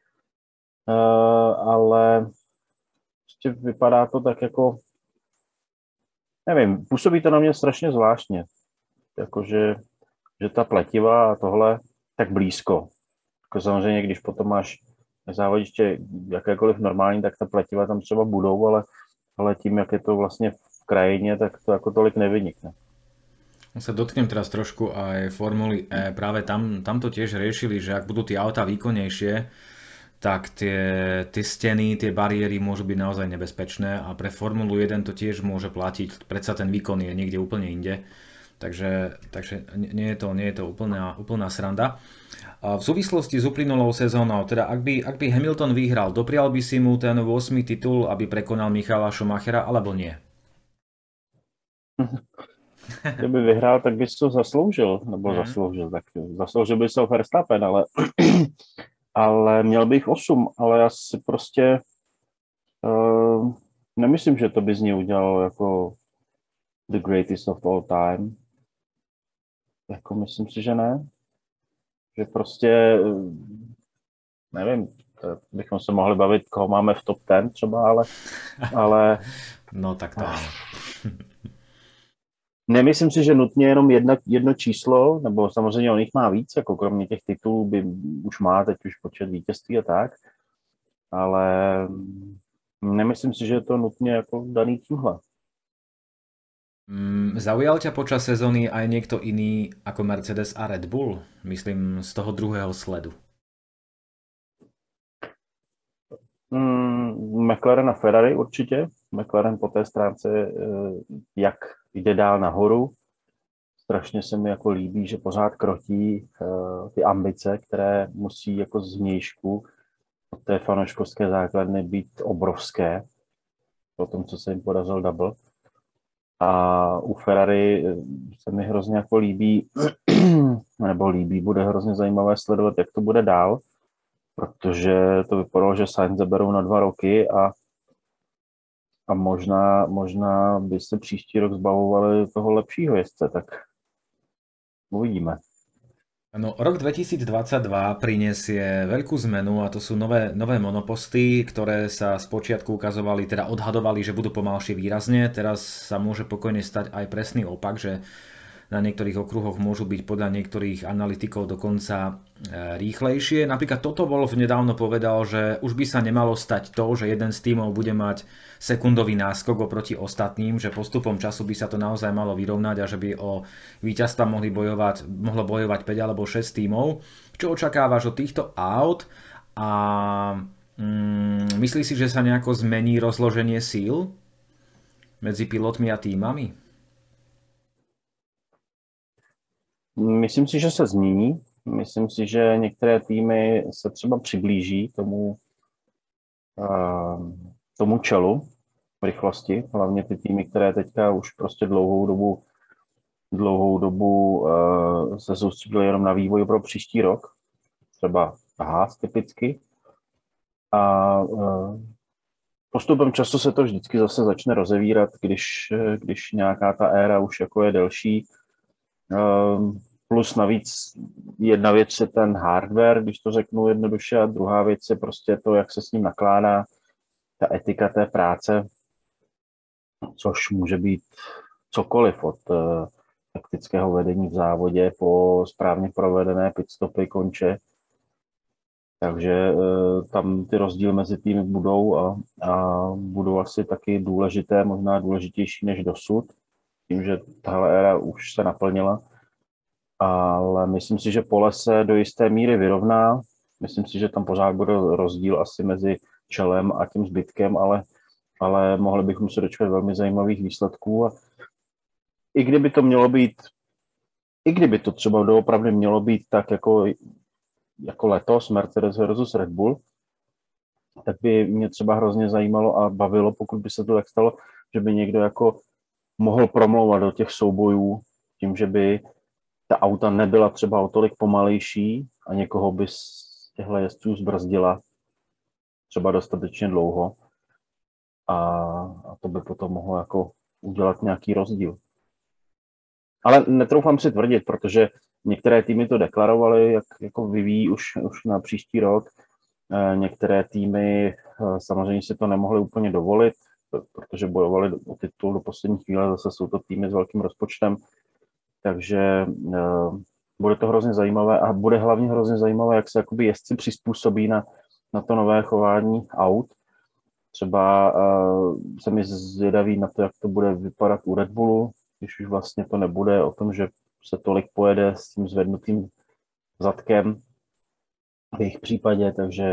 ale prostě vypadá to tak jako, nevím, působí to na mě strašně zvláštně. Jakože že ta pletiva a tohle tak blízko. Jako samozřejmě, když potom máš závodiště jakékoliv normální, tak ta pletiva tam třeba budou, ale tím, jak je to vlastně v krajině, tak to jako tolik nevynikne. Sa dotknem teraz trošku aj Formuly E. Práve tam to tiež riešili, že ak budú tie autá výkonnejšie, tak tie steny, tie bariéry môžu byť naozaj nebezpečné a pre Formulu 1 to tiež môže platiť. Predsa ten výkon je niekde úplne inde. Takže nie je to úplná sranda. V súvislosti s uplynulou sezónou, teda ak by Hamilton vyhral, doprial by si mu ten 8. titul, aby prekonal Michaela Schumachera, alebo nie? Kdyby vyhrál, tak bys to zasloužil, nebo zasloužil by se Verstappen, ale měl bych 8, ale já si prostě nemyslím, že to by z něj udělalo jako the greatest of all time. Jako myslím si, že ne. Že prostě, nevím, bychom se mohli bavit, koho máme v top 10 třeba, ale no tak to nemyslím si, že nutně jenom jedno číslo, nebo samozřejmě on jich má víc, jako kromě těch titulů by už má teď už počet vítězství a tak, ale nemyslím si, že je to nutně jako daný tímhle. Zaujal ťa počas sezóny aj niekto iný ako Mercedes a Red Bull? Myslím z toho druhého sledu. McLaren a Ferrari určitě. McLaren po té stránce, jak jde dál nahoru. Strašně se mi jako líbí, že pořád krotí ty ambice, které musí jako zvnějšku od té fanouškovské základny být obrovské. Po tom, co se jim podařil double. A u Ferrari se mi hrozně jako líbí, bude hrozně zajímavé sledovat, jak to bude dál, protože to vypadalo, že Sainz zaberou na 2 roky a možná by se příští rok zbavovali toho lepšího jezdce, tak uvidíme. No, rok 2022 prinesie veľkú zmenu a to sú nové monoposty, ktoré sa spočiatku ukazovali, teda odhadovali, že budú pomalšie výrazne. Teraz sa môže pokojne stať aj presný opak, že na niektorých okruhoch môžu byť podľa niektorých analytikov dokonca rýchlejšie. Napríklad toto Wolff nedávno povedal, že už by sa nemalo stať to, že jeden z tímov bude mať sekundový náskok oproti ostatným, že postupom času by sa to naozaj malo vyrovnať a že by o víťazstva mohlo bojovať 5 alebo 6 tímov. Čo očakávaš od týchto aut a myslíš si, že sa nejako zmení rozloženie síl medzi pilotmi a týmami? Myslím si, že se změní. Myslím si, že některé týmy se třeba přiblíží tomu čelu v rychlosti. Hlavně ty týmy, které teďka už prostě dlouhou dobu se soustředily jenom na vývoj pro příští rok. Třeba Haas typicky. A postupem času se to vždycky zase začne rozevírat, když nějaká ta éra už jako je delší. Plus navíc jedna věc je ten hardware, když to řeknu jednoduše, a druhá věc je prostě to, jak se s ním nakládá, ta etika té práce, což může být cokoliv od taktického vedení v závodě po správně provedené pitstopy, konče. Takže tam ty rozdíly mezi týmy budou a budou asi taky důležité, možná důležitější než dosud, tím, že tahle éra už se naplnila. Ale myslím si, že pole se do jisté míry vyrovná. Myslím si, že tam pořád bude rozdíl asi mezi čelem a tím zbytkem, ale mohli bychom se dočkat velmi zajímavých výsledků. A i kdyby to třeba doopravdy mělo být tak jako letos Mercedes versus Red Bull, tak by mě třeba hrozně zajímalo a bavilo, pokud by se to tak stalo, že by někdo jako mohl promlouvat do těch soubojů tím, že by ta auta nebyla třeba o tolik pomalejší a někoho by z těchto jezdců zbrzdila třeba dostatečně dlouho a to by potom mohlo jako udělat nějaký rozdíl. Ale netroufám si tvrdit, protože některé týmy to deklarovaly, jak jako vyvíjí už na příští rok. Některé týmy samozřejmě si to nemohly úplně dovolit, protože bojovali o titul do poslední chvíle, zase jsou to týmy s velkým rozpočtem. Takže bude to hrozně zajímavé a bude hlavně hrozně zajímavé, jak se jakoby jezdci přizpůsobí na to nové chování aut. Třeba se mi zvědaví na to, jak to bude vypadat u Red Bullu, když už vlastně to nebude o tom, že se tolik pojede s tím zvednutým zadkem v jejich případě, takže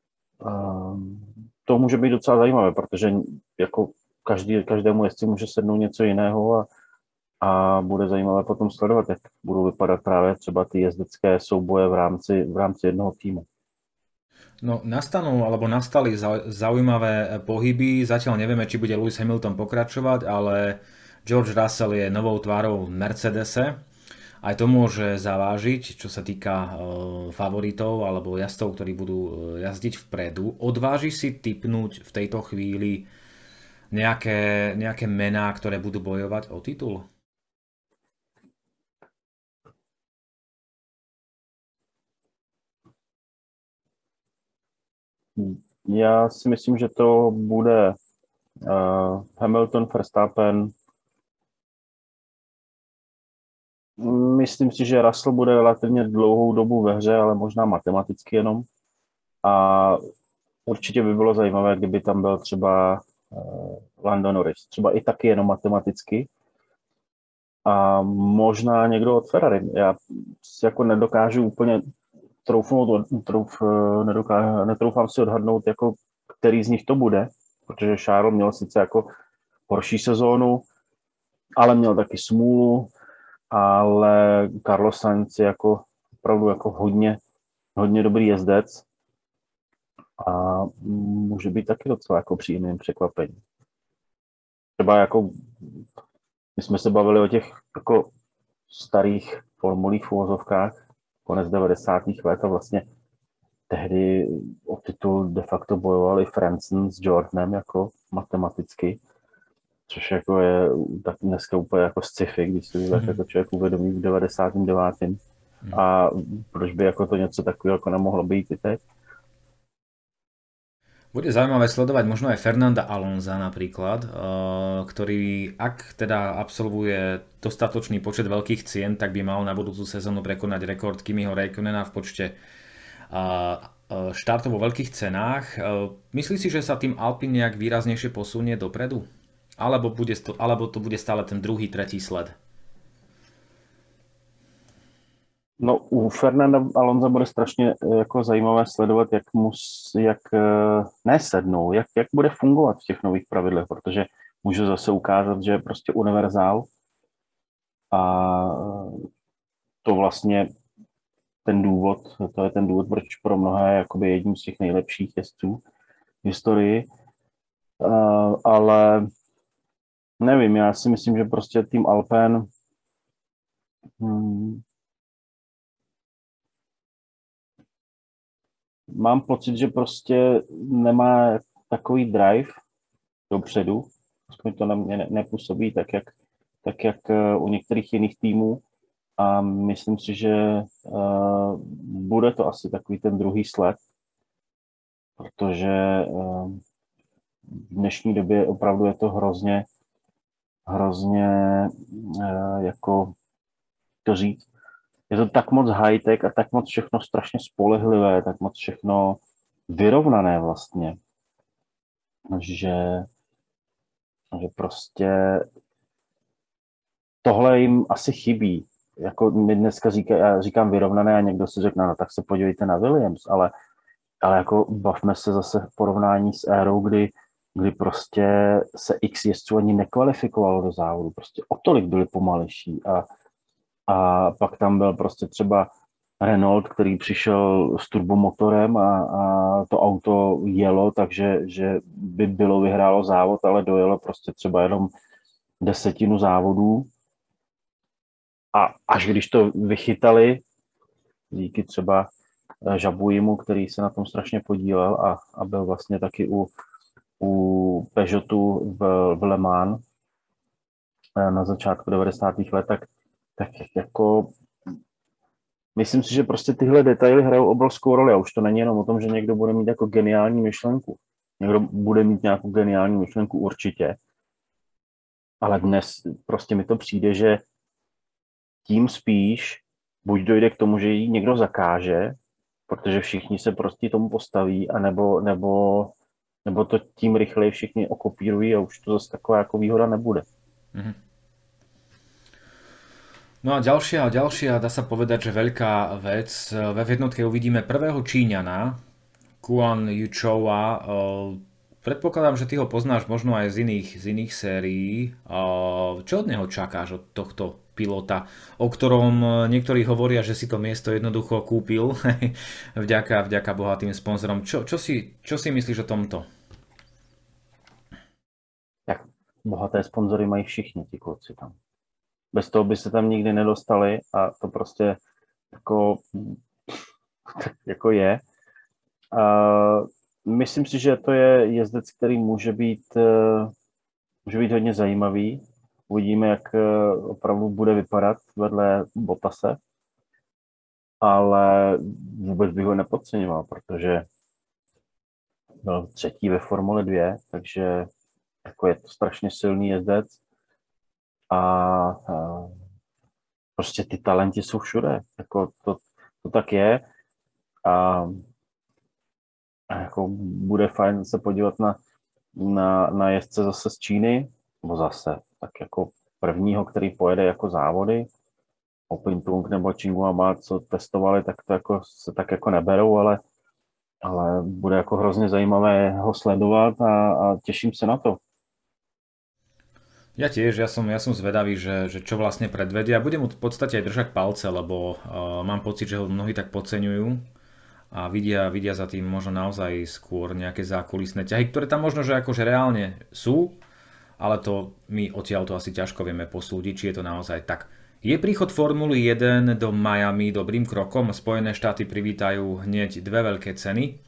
to může být docela zajímavé, protože jako každému jezdci může sednout něco jiného a a bude zajímavé potom sledovat, jak budou vypadat právě třeba ty jezdecké souboje v rámci jednoho týmu. No, nastali zaujímavé pohyby. Zatiaľ nevieme, či bude Lewis Hamilton pokračovať, ale George Russell je novou tvárou Mercedese. Aj to môže zavážiť, čo sa týka favoritov alebo jazdcov, ktorí budú jazdiť vpredu. Odváži si tipnúť v tejto chvíli nejaké mená, ktoré budú bojovať o titul? Já si myslím, že to bude Hamilton, Verstappen. Myslím si, že Russell bude relativně dlouhou dobu ve hře, ale možná matematicky jenom. A určitě by bylo zajímavé, kdyby tam byl třeba Lando Norris. Třeba i taky jenom matematicky. A možná někdo od Ferrari. Já si jako nedokážu úplně netroufám si odhadnout, jako který z nich to bude, protože Charles měl sice jako horší sezónu, ale měl taky smůlu, ale Carlos Sainz je jako opravdu jako hodně dobrý jezdec a může být taky docela jako příjemným překvapením. Třeba jako my jsme se bavili o těch jako starých formulích v uvozovkách, konec 90. let a vlastně tehdy o titul de facto bojovali Frentzen s Jordanem jako matematicky, což jako je tak dneska úplně jako sci-fi, když se jako člověk uvědomí v 99. A proč by jako to něco takového jako nemohlo být i teď? Bude zaujímavé sledovať možno aj Fernanda Alonsa napríklad, ktorý ak teda absolvuje dostatočný počet veľkých cien, tak by mal na budúcu sezónu prekonať rekord Kimiho Räikkönena v počte štartov vo veľkých cenách. Myslíš si, že sa tým Alpine nejak výraznejšie posunie dopredu? Alebo to bude stále ten druhý, tretí sled? No, u Fernanda Alonsa bude strašně jako zajímavé sledovat, jak nesednou, jak bude fungovat v těch nových pravidlech, protože může zase ukázat, že je prostě univerzál a to vlastně to je ten důvod, proč pro mnohé je jakoby jedním z těch nejlepších jezdců v historii, ale nevím, já si myslím, že prostě tým Alpen mám pocit, že prostě nemá takový drive dopředu, aspoň to na mě nepůsobí tak jak u některých jiných týmů a myslím si, že bude to asi takový ten druhý sled, protože v dnešní době opravdu je to hrozně jako to říct, je to tak moc high-tech a tak moc všechno strašně spolehlivé, tak moc všechno vyrovnané vlastně, že prostě tohle jim asi chybí. Jako my dneska já říkám vyrovnané a někdo si řekne, no tak se podívejte na Williams, ale jako bavme se zase v porovnání s érou, kdy prostě se x jezdců ani nekvalifikovalo do závodu, prostě o tolik byli pomalejší a pak tam byl prostě třeba Renault, který přišel s turbomotorem a to auto jelo, takže že by bylo vyhrálo závod, ale dojelo prostě třeba jenom 10 závodů. A až když to vychytali, díky třeba Žabujimu, který se na tom strašně podílel a byl vlastně taky u Peugeotu v Le Mans na začátku 90. let, tak jako myslím si, že prostě tyhle detaily hrajou obrovskou roli a už to není jenom o tom, že někdo bude mít jako geniální myšlenku. Někdo bude mít nějakou geniální myšlenku určitě, ale dnes prostě mi to přijde, že tím spíš buď dojde k tomu, že ji někdo zakáže, protože všichni se prostě tomu postaví, nebo to tím rychleji všichni okopírují a už to zase taková jako výhoda nebude. Mm-hmm. No a ďalšia, dá sa povedať, že veľká vec. V F1 uvidíme prvého Číňana, Guan Yuchoua. Predpokladám, že ty ho poznáš možno aj z iných sérií. Čo od neho čakáš, od tohto pilota, o ktorom niektorí hovoria, že si to miesto jednoducho kúpil vďaka bohatým sponzorom. Čo si myslíš o tomto? Jak bohaté sponzory mají všichni ti kluci tam. Bez toho by se tam nikdy nedostali a to prostě jako je. Myslím si, že to je jezdec, který může být hodně zajímavý. Uvidíme, jak opravdu bude vypadat vedle Bottase, ale vůbec bych ho nepodceňoval, protože byl třetí ve Formule 2, takže jako je to strašně silný jezdec a prostě ty talenty jsou všude. Jako to tak je a jako bude fajn se podívat na jezdce zase z Číny, nebo zase tak jako prvního, který pojede jako závody. Opintung nebo Tsinghua, co testovali, tak to jako se tak jako neberou, ale bude jako hrozně zajímavé ho sledovat a těším se na to. Ja tiež, ja som zvedavý, že čo vlastne predvedia. Budem mu v podstate aj držať palce, lebo mám pocit, že ho mnohí tak podceňujú a vidia za tým možno naozaj skôr nejaké zákulisné ťahy, ktoré tam možno, že akože reálne sú, ale to my odtiaľ to asi ťažko vieme posúdiť, či je to naozaj tak. Je príchod Formuly 1 do Miami dobrým krokom? Spojené štáty privítajú hneď dve veľké ceny.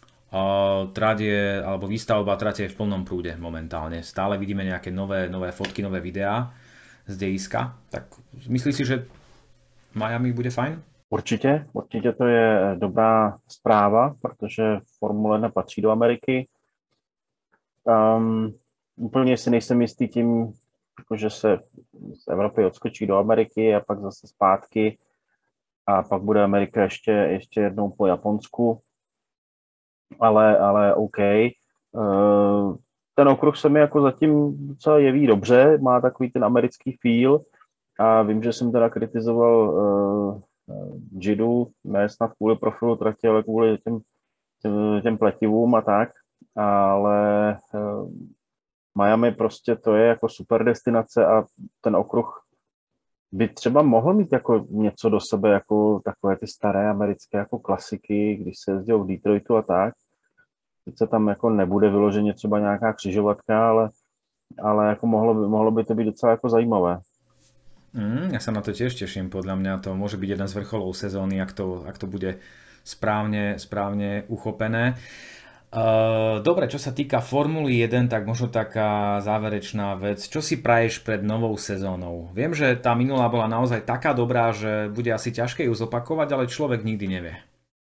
Alebo výstavba trate je v plnom prúde momentálne. Stále vidíme nejaké nové fotky, nové videá z dejiska. Tak myslíš si, že Miami bude fajn? Určitě to je dobrá zpráva, protože Formule 1 patří do Ameriky. Úplně si nejsem jistý tím, že se z Evropy odskočí do Ameriky a pak zase zpátky a pak bude Amerika ještě jednou po Japonsku. Ale OK. Ten okruh se mi jako zatím docela jeví dobře, má takový ten americký feel a vím, že jsem teda kritizoval Jidu, ne snad kvůli profilu trati, ale kvůli těm pletivům a tak, ale Miami prostě to je jako super destinace a ten okruh by třeba mohl mít jako něco do sebe, jako takové ty staré americké jako klasiky, když se jezdil v Detroitu a tak. Sice tam jako nebude vyloženě třeba nějaká křižovatka, ale jako mohlo by to být docela jako zajímavé. Ja sa na to tiež teším, podľa mňa to môže byť jeden z vrcholov sezóny, ak to bude správne uchopené. Dobre, čo sa týka Formuly 1, tak možno taká záverečná vec. Čo si praješ pred novou sezónou? Viem, že tá minulá bola naozaj taká dobrá, že bude asi ťažké ju zopakovať, ale človek nikdy nevie.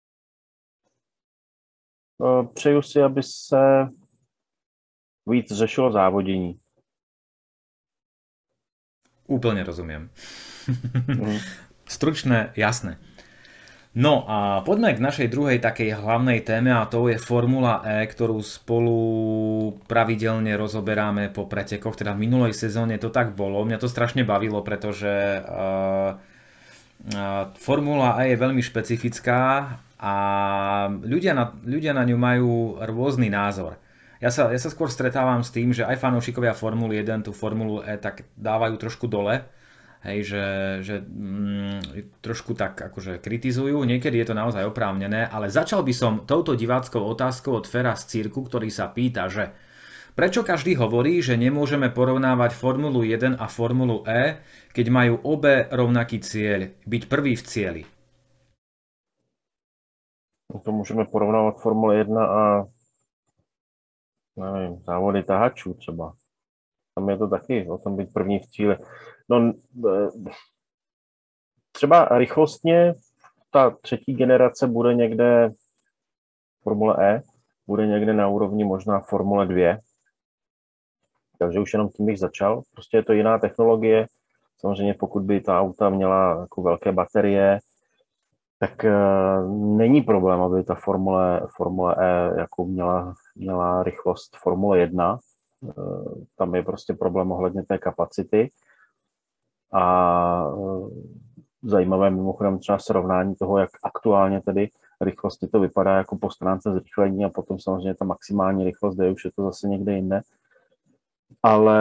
Přeju si, aby se víc řešilo závodění. Úplne rozumiem. Stručné, jasné. No a poďme k našej druhej takej hlavnej téme a to je Formula E, ktorú spolu pravidelne rozoberáme po pretekoch. Teda v minulej sezóne to tak bolo. Mňa to strašne bavilo, pretože Formula E je veľmi špecifická a ľudia na ňu majú rôzny názor. Ja sa skôr stretávam s tým, že aj fanúšikovia Formuly 1 tú Formulu E tak dávajú trošku dole, hej, že trošku tak akože kritizujú, niekedy je to naozaj oprávnené, ale začal by som touto diváckou otázkou od Fera z Cirku, ktorý sa pýta, že prečo každý hovorí, že nemôžeme porovnávať Formulu 1 a Formulu E, keď majú obe rovnaký cieľ, byť prvý v cieli? To můžeme porovnávat Formule 1 a nevím, závody tahačů třeba. Tam je to taky o tom být první v cíli. No, třeba rychlostně ta třetí generace bude někde Formule E, bude někde na úrovni možná Formule 2. Takže už jenom tím bych začal. Prostě je to jiná technologie. Samozřejmě pokud by ta auta měla jako velké baterie, tak není problém, aby ta Formule E jako měla rychlost Formule 1. Tam je prostě problém ohledně té kapacity. A zajímavé mimochodem třeba srovnání toho, jak aktuálně tedy rychlosti to vypadá jako po stránce zrychlení a potom samozřejmě ta maximální rychlost, kde už je to zase někde jinde. Ale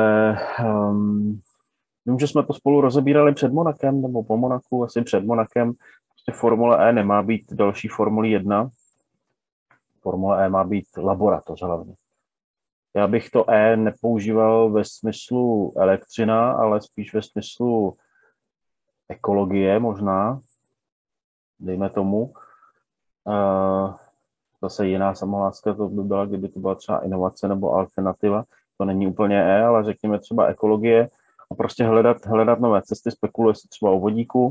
vím, že jsme to spolu rozebírali před Monakem, nebo po Monaku, asi před Monakem. Prostě Formule E nemá být další Formule 1. Formule E má být laboratoř hlavně. Já bych to E nepoužíval ve smyslu elektřina, ale spíš ve smyslu ekologie možná, dejme tomu. Zase jiná samoláska to by byla, kdyby to byla třeba inovace nebo alternativa. To není úplně E, ale řekněme třeba ekologie a prostě hledat nové cesty, spekuluje se třeba o vodíku.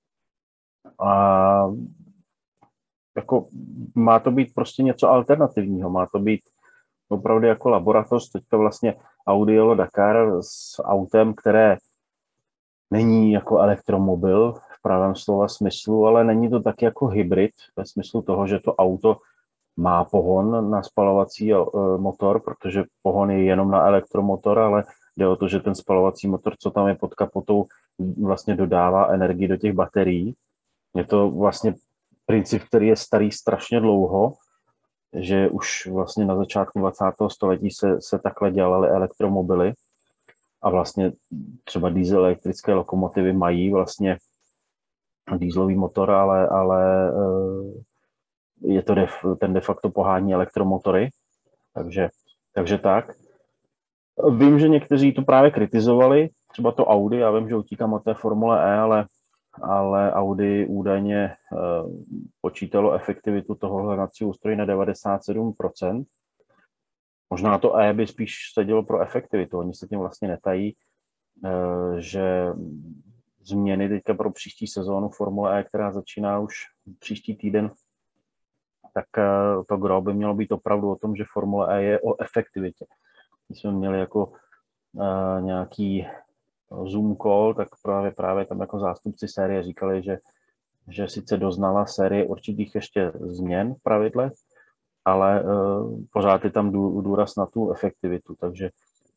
A jako má to být prostě něco alternativního, má to být opravdu jako laboratoř. Teďka vlastně Audi jelo Dakar s autem, které není jako elektromobil v pravém slova smyslu, ale není to taky jako hybrid ve smyslu toho, že to auto má pohon na spalovací motor, protože pohon je jenom na elektromotor, ale jde o to, že ten spalovací motor, co tam je pod kapotou, vlastně dodává energii do těch baterií. Je to vlastně princip, který je starý strašně dlouho, že už vlastně na začátku 20. století se takhle dělaly elektromobily a vlastně třeba diesel elektrické lokomotivy mají vlastně dieselový motor, ale je to ten de facto pohání elektromotory, takže tak. Vím, že někteří to právě kritizovali, třeba to Audi, já vím, že utíkám od té Formule E, ale Audi údajně počítalo efektivitu toho hledacího ústrojí na 97%. Možná to E by spíš sedělo pro efektivitu, oni se tím vlastně netají, že změny teďka pro příští sezónu Formule E, která začíná už příští týden, tak to gro by mělo být opravdu o tom, že Formule E je o efektivitě. Když jsme měli jako nějaký Zoom call, tak právě tam jako zástupci série říkali, že sice doznala série určitých ještě změn v pravidlech, ale pořád je tam důraz na tu efektivitu. Takže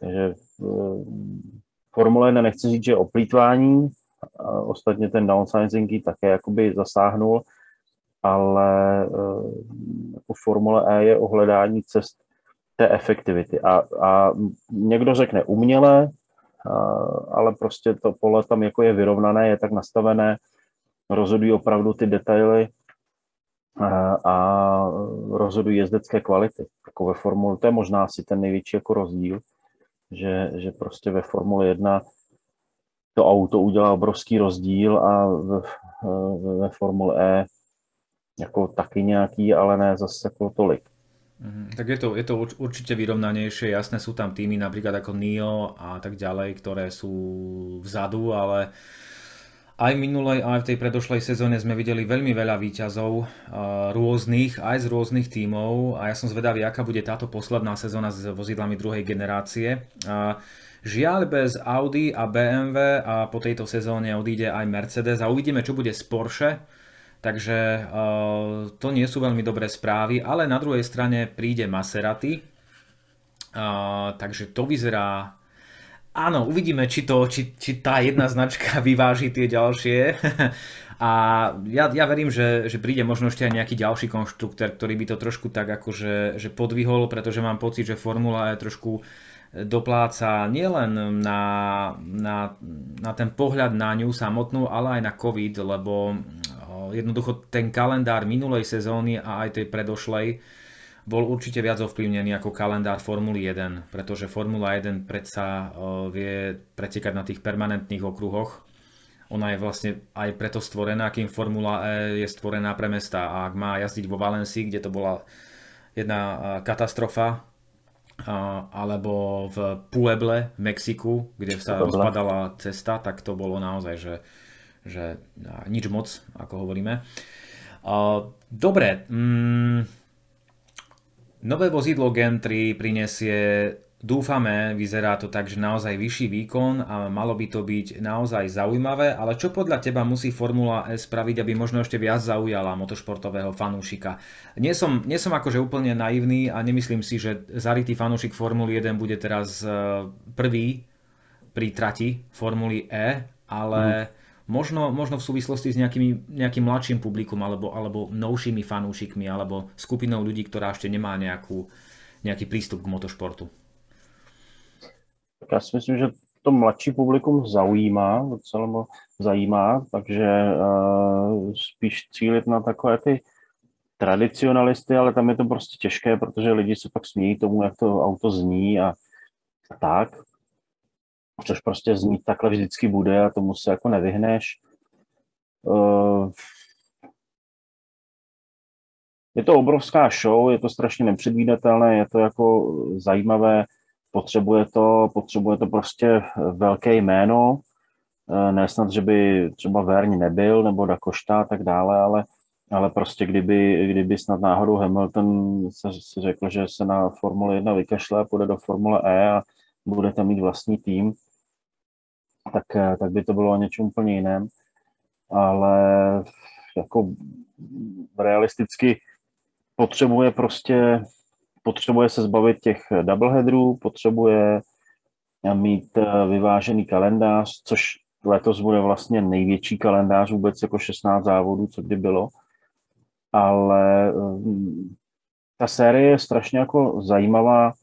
Formule 1 nechci říct, že je o plýtvání, ostatně ten downsizing ji také jakoby zasáhnul, ale jako Formule E je o hledání cest té efektivity. A někdo řekne uměle, ale prostě to pole tam jako je vyrovnané, je tak nastavené, rozhodují opravdu ty detaily a rozhodují jezdecké kvality. Jako ve Formule, to je možná asi ten největší jako rozdíl, že prostě ve Formule 1 to auto udělá obrovský rozdíl a ve Formule E jako taky nějaký, ale ne zase jako tolik. Tak je to určite vyrovnanejšie, jasné sú tam týmy napríklad ako NIO a tak ďalej, ktoré sú vzadu, ale aj v minulej, aj v tej predošlej sezóne sme videli veľmi veľa výťazov rôznych, aj z rôznych tímov a ja som zvedavý, aká bude táto posledná sezóna s vozidlami druhej generácie. Žiaľ bez Audi a BMW a po tejto sezóne odíde aj Mercedes a uvidíme, čo bude s Porsche. Takže to nie sú veľmi dobré správy, ale na druhej strane príde Maserati, takže to vyzerá... Áno, uvidíme, či tá jedna značka vyváži tie ďalšie. A ja verím, že príde možno ešte aj nejaký ďalší konštruktor, ktorý by to trošku tak akože podvihol, pretože mám pocit, že Formula E trošku dopláca nielen na ten pohľad na ňu samotnú, ale aj na COVID, lebo jednoducho ten kalendár minulej sezóny a aj tej predošlej bol určite viac ovplyvnený ako kalendár Formuly 1, pretože Formula 1 predsa vie pretekať na tých permanentných okruhoch. Ona je vlastne aj preto stvorená, kým Formula E je stvorená pre mesta. A ak má jazdiť vo Valencii, kde to bola jedna katastrofa, alebo v Pueble v Mexiku, kde sa rozpadala cesta, tak to bolo naozaj, že nič moc, ako hovoríme. Dobre, nové vozidlo Gen 3 prinesie, dúfame, vyzerá to tak, že naozaj vyšší výkon a malo by to byť naozaj zaujímavé, ale čo podľa teba musí Formula E spraviť, aby možno ešte viac zaujala motošportového fanúšika? Nie som akože úplne naivný a nemyslím si, že zarytý fanúšik Formuly 1 bude teraz prvý pri trati Formuly E, ale Možno v súvislosti s nejakým mladším publikum alebo novšími fanúšikmi alebo skupinou ľudí, ktorá ešte nemá nejaký prístup k motošportu. Tak já si myslím, že to mladší publikum docela zajímá, takže spíš cílit na takové ty tradicionalisty, ale tam je to prostě těžké, protože lidi se pak smějí tomu, jak to auto zní a tak. Což prostě znít takhle vždycky bude a tomu se jako nevyhneš. Je to obrovská show, je to strašně nepředvídatelné, je to jako zajímavé, potřebuje to prostě velké jméno, ne snad, že by třeba Vergne nebyl, nebo Da Costa a tak dále, ale prostě kdyby snad náhodou Hamilton se řekl, že se na Formule 1 vykašle a půjde do Formule E a bude tam mít vlastní tým, tak by to bylo o něčem úplně jiném. Ale jako realisticky potřebuje se zbavit těch doubleheaderů, potřebuje mít vyvážený kalendář, což letos bude vlastně největší kalendář vůbec, jako 16 závodů, co kdy bylo. Ale ta série je strašně jako zajímavá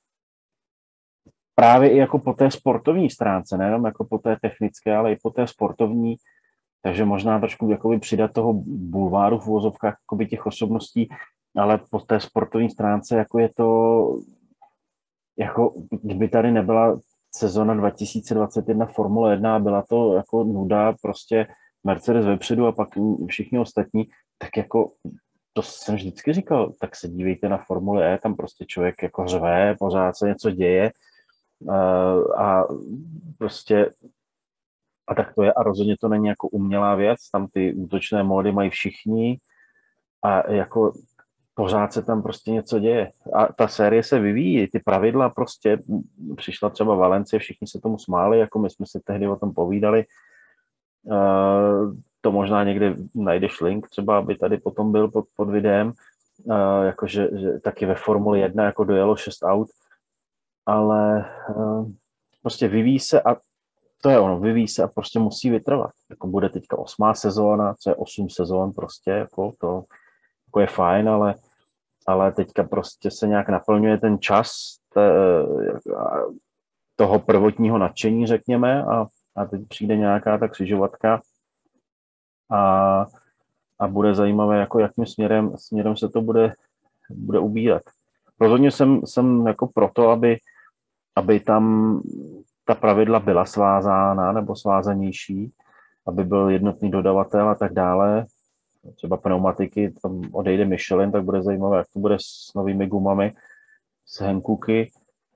právě i jako po té sportovní stránce, nejenom jako po té technické, ale i po té sportovní, takže možná trošku jakoby přidat toho bulváru v uvozovkách jakoby těch osobností, ale po té sportovní stránce jako je to, jako kdyby tady nebyla sezona 2021 Formule 1 a byla to jako nuda, prostě Mercedes vepředu a pak všichni ostatní, tak jako to jsem vždycky říkal, tak se dívejte na Formule E, tam prostě člověk jako řve, pořád se něco děje a prostě a tak to je a rozhodně to není jako umělá věc, tam ty útočné módy mají všichni a jako pořád se tam prostě něco děje. A ta série se vyvíjí, ty pravidla prostě, přišla třeba Valencie, všichni se tomu smáli, jako my jsme si tehdy o tom povídali. To možná někde najdeš link, třeba aby tady potom byl pod videem, jakože že taky ve Formuli 1 jako dojelo 6 aut, ale prostě vyvíjí se a to je ono, vyvíjí se a prostě musí vytrvat. Jako bude teďka 8. sezóna, co je 8 sezón prostě, jako to jako je fajn, ale teďka prostě se nějak naplňuje ten čas toho prvotního nadšení, řekněme, a teď přijde nějaká ta křižovatka a bude zajímavé, jako jakým směrem se to bude ubírat. Rozhodně jsem jako proto, aby tam ta pravidla byla svázána nebo svázanější, aby byl jednotný dodavatel a tak dále. Třeba pneumatiky, tam odejde Michelin, tak bude zajímavé, jak to bude s novými gumami, s Hankooky.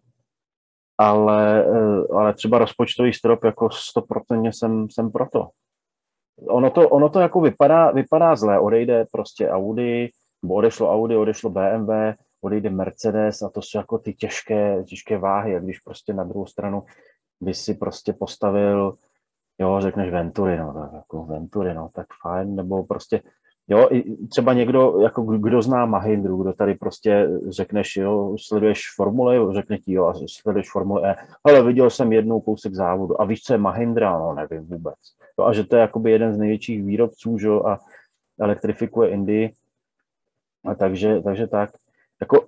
Ale třeba rozpočtový strop, jako 100% jsem proto. Ono to jako vypadá zlé, odejde prostě Audi, nebo odešlo Audi, odešlo BMW, odejde Mercedes a to jsou jako ty těžké váhy, a když prostě na druhou stranu by si prostě postavil, jo, řekneš Venturi, no, tak jako Venturi, no, tak fajn, nebo prostě, jo, i třeba někdo, jako kdo zná Mahindru, kdo tady prostě řekneš, jo, sleduješ Formule, řekne ti, jo, a sleduješ Formule E, ale viděl jsem jednou kousek závodu a víš, co je Mahindra, no, nevím vůbec. Jo, a že to je jakoby jeden z největších výrobců, že, a elektrifikuje Indii, a takže tak, jako,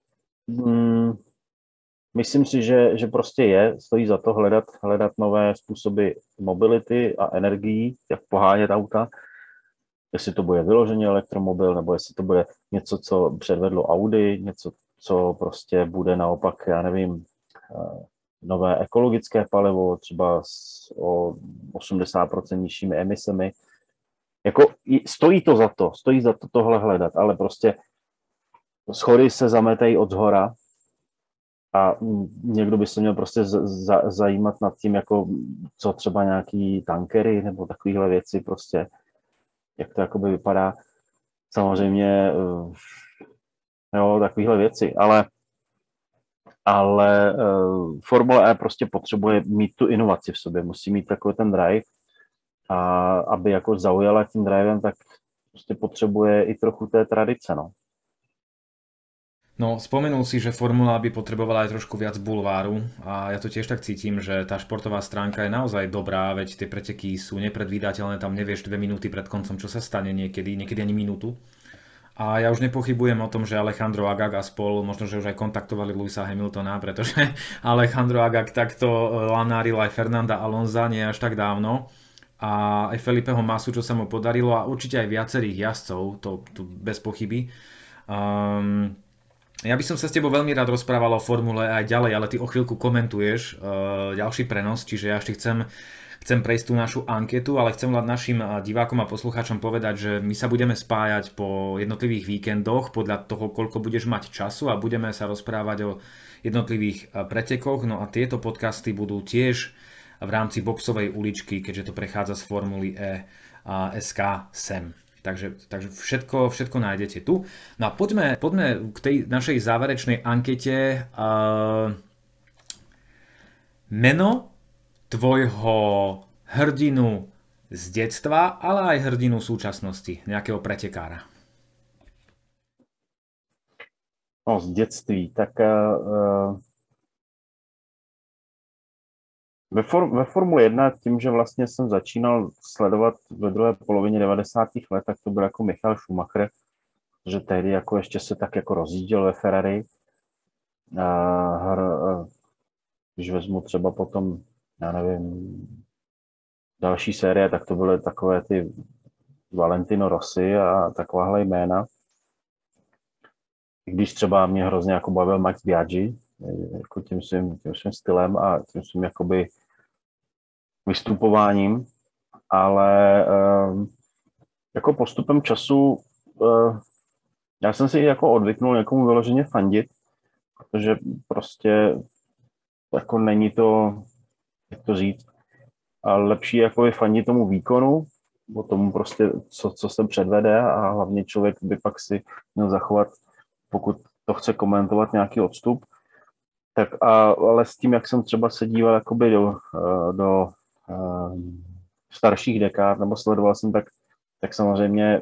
myslím si, že prostě stojí za to hledat nové způsoby mobility a energií, jak pohánět auta, jestli to bude vyloženě elektromobil, nebo jestli to bude něco, co předvedlo Audi, něco, co prostě bude naopak, já nevím, nové ekologické palivo, třeba o 80% nižšími emisemi. Jako stojí za to tohle hledat, ale prostě schody se zametají od zhora a někdo by se měl prostě zajímat nad tím, jako co třeba nějaký tankery nebo takovéhle věci prostě, jak to jakoby vypadá. Samozřejmě, jo, takovéhle věci, ale Formule E prostě potřebuje mít tu inovaci v sobě, musí mít takový ten drive a aby jako zaujala tím drivem, tak prostě potřebuje i trochu té tradice, no. No, spomenul si, že Formula by potrebovala aj trošku viac bulváru a ja to tiež tak cítim, že tá športová stránka je naozaj dobrá, veď tie preteky sú nepredvídateľné, tam nevieš 2 minúty pred koncom, čo sa stane niekedy ani minútu. A ja už nepochybujem o tom, že Alejandro Agag a spol, možno, že už aj kontaktovali Lewisa Hamiltona, pretože Alejandro Agag takto lanáril aj Fernanda Alonza nie až tak dávno. A aj Felipeho Massu, čo sa mu podarilo a určite aj viacerých jazdcov, to bez pochyby. Um, ja by som sa s tebou veľmi rád rozprával o formule aj ďalej, ale ty o chvíľku komentuješ ďalší prenos, čiže ja ešte chcem prejsť tú našu anketu, ale chcem len našim divákom a poslucháčom povedať, že my sa budeme spájať po jednotlivých víkendoch podľa toho, koľko budeš mať času a budeme sa rozprávať o jednotlivých pretekoch. No a tieto podcasty budú tiež v rámci boxovej uličky, keďže to prechádza z Formuly E a SK sem. Takže všetko nájdete tu. No a poďme k tej našej záverečnej ankete. Meno tvojho hrdinu z detstva, ale aj hrdinu súčasnosti, nejakého pretekára. No, z dětství, tak ve Formule 1, tím, že vlastně jsem začínal sledovat ve druhé polovině 90. let, tak to byl jako Michael Schumacher, že tehdy jako ještě se tak jako rozjížděl ve Ferrari. Když vezmu třeba potom, já nevím, další série, tak to byly takové ty Valentino Rossi a takováhle jména. Když třeba mě hrozně jako bavil Max Biaggi, jako tím svým stylem a tím svým jakoby vystupováním, ale jako postupem času já jsem si jako odvyknul někomu vyloženě fandit, protože prostě jako není to, jak to říct, ale lepší jako je fandit tomu výkonu, o tomu prostě, co se předvede a hlavně člověk by pak si měl zachovat, pokud to chce komentovat, nějaký odstup. Tak ale s tím, jak jsem třeba se díval jakoby do starších dekád, nebo sledoval jsem, tak samozřejmě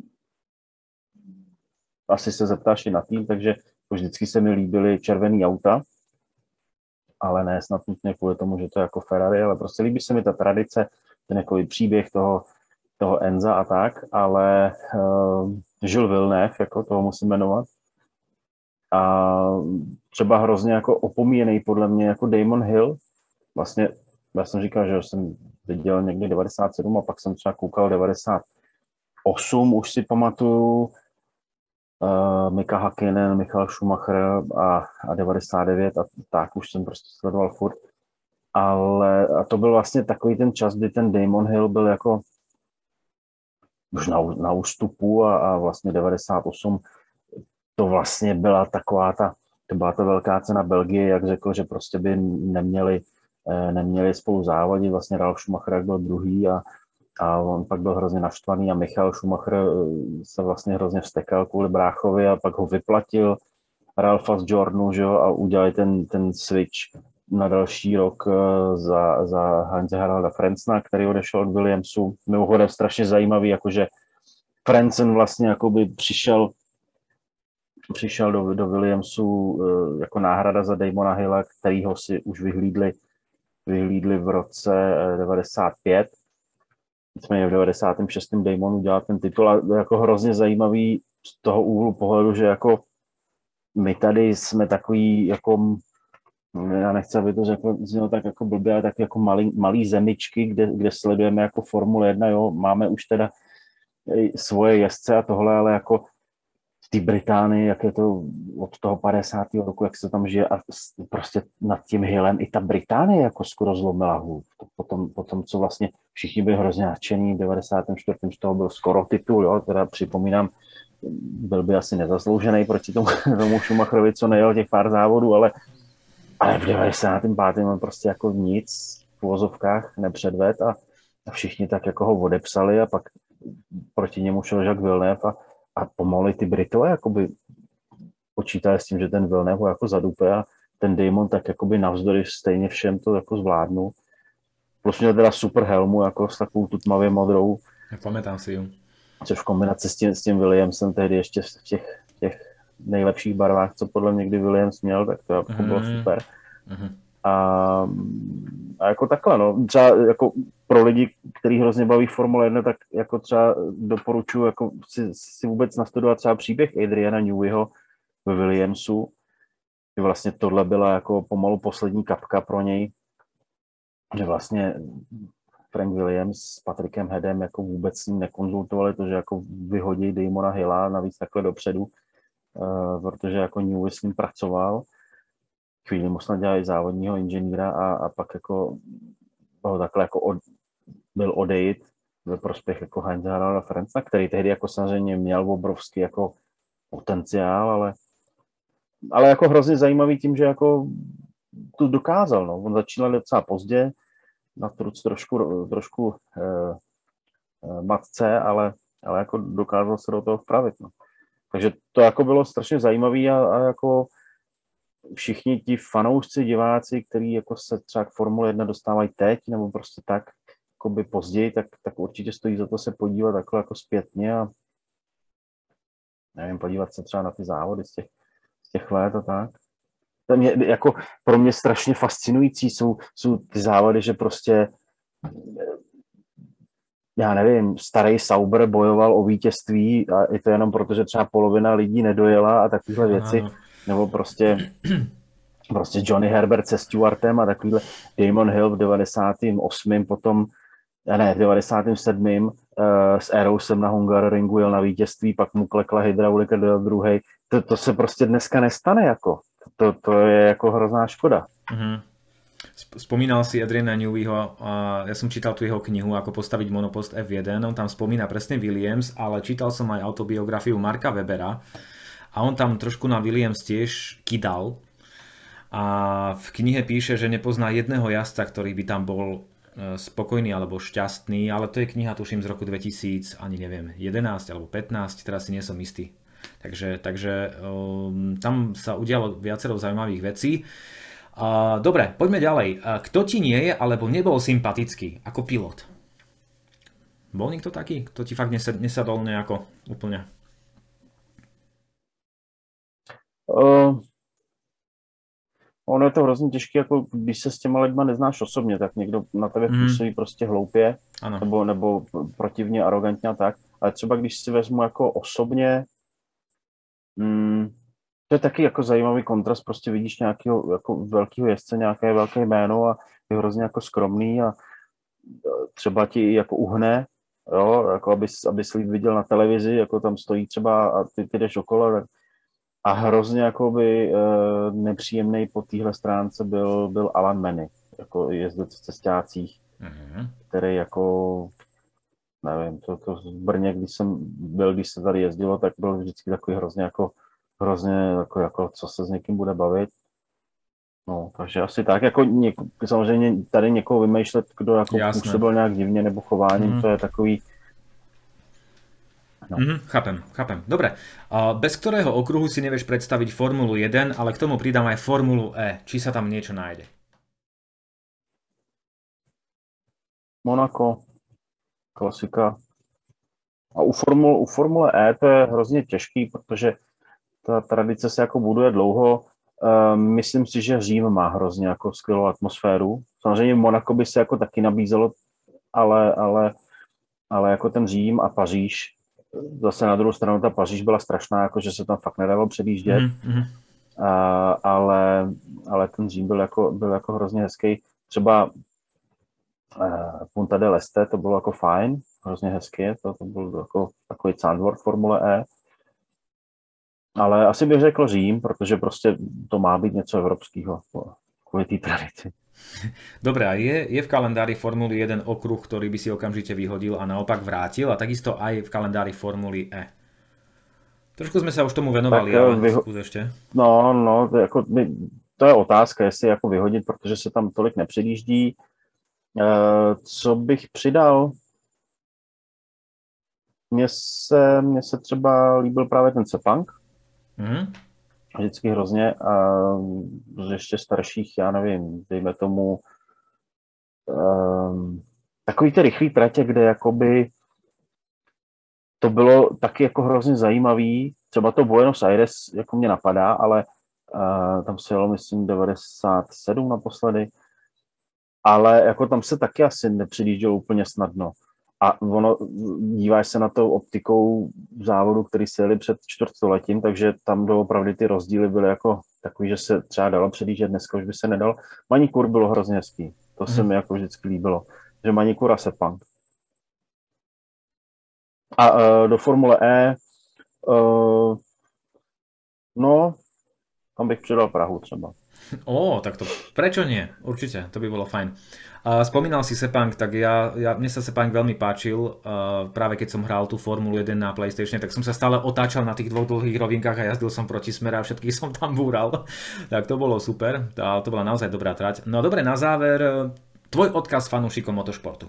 asi se zeptáš i na tým, takže vždycky se mi líbily červený auta, ale ne snad nutně kvůli tomu, že to je jako Ferrari, ale prostě líbí se mi ta tradice, ten jako příběh toho Enza a tak, ale Jules Villeneuve, jako toho musím jmenovat, a třeba hrozně jako opomíjený podle mě jako Damon Hill. Vlastně já jsem říkal, že jsem viděl někdy 97 a pak jsem třeba koukal 98, už si pamatuju, Mika Hakkinen, Michael Schumacher a 99 a tak už jsem prostě sledoval furt. Ale a to byl vlastně takový ten čas, kdy ten Damon Hill byl jako už na ústupu a vlastně 98 to vlastně byla to byla ta velká cena Belgie, jak řekl, že prostě by neměli spolu závodit, vlastně Ralf Schumacher byl druhý a on pak byl hrozně naštvaný a Michael Schumacher se vlastně hrozně vztekal kvůli bráchovi a pak ho vyplatil Ralfa z Jordanu, že jo, a udělali ten switch na další rok za Heinze Haralda Frenzena, který odešel od Williamsu. Mimochodem strašně zajímavý, jakože Frenzen vlastně jakoby přišel do Williamsu jako náhrada za Damona Hilla, kterýho si už vyhlídli v roce 95. Nicméně v 96. Damon udělal ten titul a jako hrozně zajímavý z toho úhlu pohledu, že jako my tady jsme takový jako, já nechci, aby to znělo tak jako blbě, ale tak jako malý zemičky, kde sledujeme jako Formule 1, jo, máme už teda svoje jezdce a tohle, ale jako v té Británii, jak je to od toho 50. roku, jak se tam žije a prostě nad tím Hillem i ta Británie jako skoro zlomila hůl. Potom, co vlastně všichni byli hrozně nadšení, v 94. z toho byl skoro titul, jo, teda připomínám, byl by asi nezasloužený proti tomu Schumacherovi, co nejel těch pár závodů, ale v 95. on prostě jako nic v uvozovkách nepředved a všichni tak jako ho odepsali a pak proti němu šel Jacques Villeneuve a pomalu ty Britové jakoby počítali s tím, že ten Villeneuve ho jako zadupe a ten Damon tak jakoby navzdory stejně všem to jako zvládnu. Plus měl teda super helmu jako s takovou tu tmavě modrou. Pamätám si ju. Což v kombinaci s tím Williamsem tehdy ještě v těch nejlepších barvách, co podle mě kdy Williams měl, tak to jako bylo super. A jako takhle, no, třeba jako pro lidi, který hrozně baví Formule 1, tak jako třeba doporučuji jako si vůbec nastudovat třeba příběh Adriana Neweyho ve Williamsu. Vlastně tohle byla jako pomalu poslední kapka pro něj, že vlastně Frank Williams s Patrickem Headem jako vůbec s ním nekonzultovali to, že jako vyhodí Damona Hilla navíc takhle dopředu, protože jako Newey s ním pracoval. Chvíli mu snad dělali závodního inženýra a pak jako ho takhle jako byl odejít ve prospěch jako Heinze Haralda Frenza, který tehdy jako samozřejmě měl obrovský jako potenciál, ale jako hrozně zajímavý tím, že jako to dokázal, no. On začínal docela pozdě, na truc trošku matce, ale jako dokázal se do toho vpravit, no. Takže to jako bylo strašně zajímavý a jako všichni ti fanoušci, diváci, kteří jako se třeba k Formule 1 dostávají teď, nebo prostě tak jakoby později, tak určitě stojí za to se podívat takhle jako zpětně a nevím, podívat se třeba na ty závody z těch let a tak. To mě, jako pro mě strašně fascinující jsou ty závody, že prostě já nevím, starý Sauber bojoval o vítězství a je to jenom proto, že třeba polovina lidí nedojela a takovéhle věci. Nebo prostě Johnny Herbert se Stewartem a takovýhle Damon Hill v 98. potom, v 97. S Aerosem na Hungaroringu jel na vítězství, pak mu klekla hydraulika do druhej. To se prostě dneska nestane, jako. To je jako hrozná škoda. Mm-hmm. Spomínal si Adriana Neweyho, ja som čítal tu jeho knihu Ako postaviť monopost F1, on tam spomína presne Williams, ale čítal som aj autobiografiu Marka Webera a on tam trošku na Williams tiež kydal a v knihe píše, že nepozná jedného jazdca, ktorý by tam bol spokojný alebo šťastný, ale to je kniha, tuším, z roku 2000, ani neviem, 11 alebo 15, teraz si nie som istý. Takže tam sa udialo viacero zaujímavých vecí. Dobre, poďme ďalej. Kto ti nie je, alebo nebol sympatický ako pilot? Bol niekto taký? Kto ti fakt nesadol nejako úplne? Ono je to hrozně těžké, jako když se s těma lidma neznáš osobně, tak někdo na tebe působí prostě hloupě, nebo protivně, arrogantně a tak. Ale třeba když si vezmu jako osobně, to je taky jako zajímavý kontrast, prostě vidíš nějakého jako velkého jezdce, nějaké velké jméno a je hrozně jako skromný a třeba ti jako uhne, jo, jako aby si viděl na televizi, jako tam stojí třeba a ty jdeš okolo, tak a hrozně jakoby nepříjemný po téhle stránce byl Alan Manny, jako jezdec v cestácích, který jako, nevím, to v Brně, když se tady jezdilo, tak byl vždycky takový hrozně jako co se s někým bude bavit. No, takže asi tak, jako samozřejmě tady někoho vymýšlet, kdo jako působil nějak divně nebo chováním, to je takový. No. Chápem. Dobre. Bez ktorého okruhu si nevieš predstaviť Formulu 1, ale k tomu pridám aj Formulu E. Či sa tam niečo nájde? Monaco, klasika. A u Formule E to je hrozně těžký, protože ta tradice se jako buduje dlouho. Myslím si, že Řím má hrozně jako skvělou atmosféru. Samozřejmě Monaco by se jako taky nabízelo, ale jako ten Řím a Paříž, zase na druhou stranu ta Paříž byla strašná, jako že se tam fakt nedalo předjíždět, ale ten Řím byl jako hrozně hezký. Třeba Punta del Este, to bylo jako fajn, hrozně hezky, to byl jako takový Zandvoort Formule E. Ale asi bych řekl Řím, protože prostě to má být něco evropského kvůli té tradici. Dobre, a je v kalendári Formuly 1 okruh, ktorý by si okamžite vyhodil a naopak vrátil, a takisto aj v kalendári Formuly E? Trošku sme sa už tomu venovali, ale skús ešte. No, to je otázka, jestli jako vyhodit, protože se tam tolik nepředjíždí. Co bych přidal? Mně se třeba líbil právě ten Sepang. Vždycky hrozně a z ještě starších, já nevím, dejme tomu takový ty rychlý tratě, kde jakoby to bylo taky jako hrozně zajímavý. Třeba to Buenos Aires jako mě napadá, ale tam se jelo, myslím, 97 naposledy. Ale jako tam se taky asi nepředjíždělo úplně snadno. A ono, díváš se na to optikou závodu, který se jeli před čtvrtstoletím, takže tam doopravdy ty rozdíly byly jako takový, že se třeba dalo předjíždět, dneska už by se nedal. Manikur bylo hrozně hezký, to se mi jako vždycky líbilo, že Manikur a Sepang. A do Formule E, no, tam bych přidal Prahu třeba. Tak to prečo nie? Určite, to by bolo fajn. Spomínal si Sepang, tak mne sa Sepang veľmi páčil. Práve keď som hral tú Formulu 1 na PlayStation, tak som sa stále otáčal na tých dvoch dlhých rovinkách a jazdil som proti smere a všetkých som tam búral. Tak to bolo super, to bola naozaj dobrá trať. No a dobre, na záver, tvoj odkaz fanúšikom motošportu.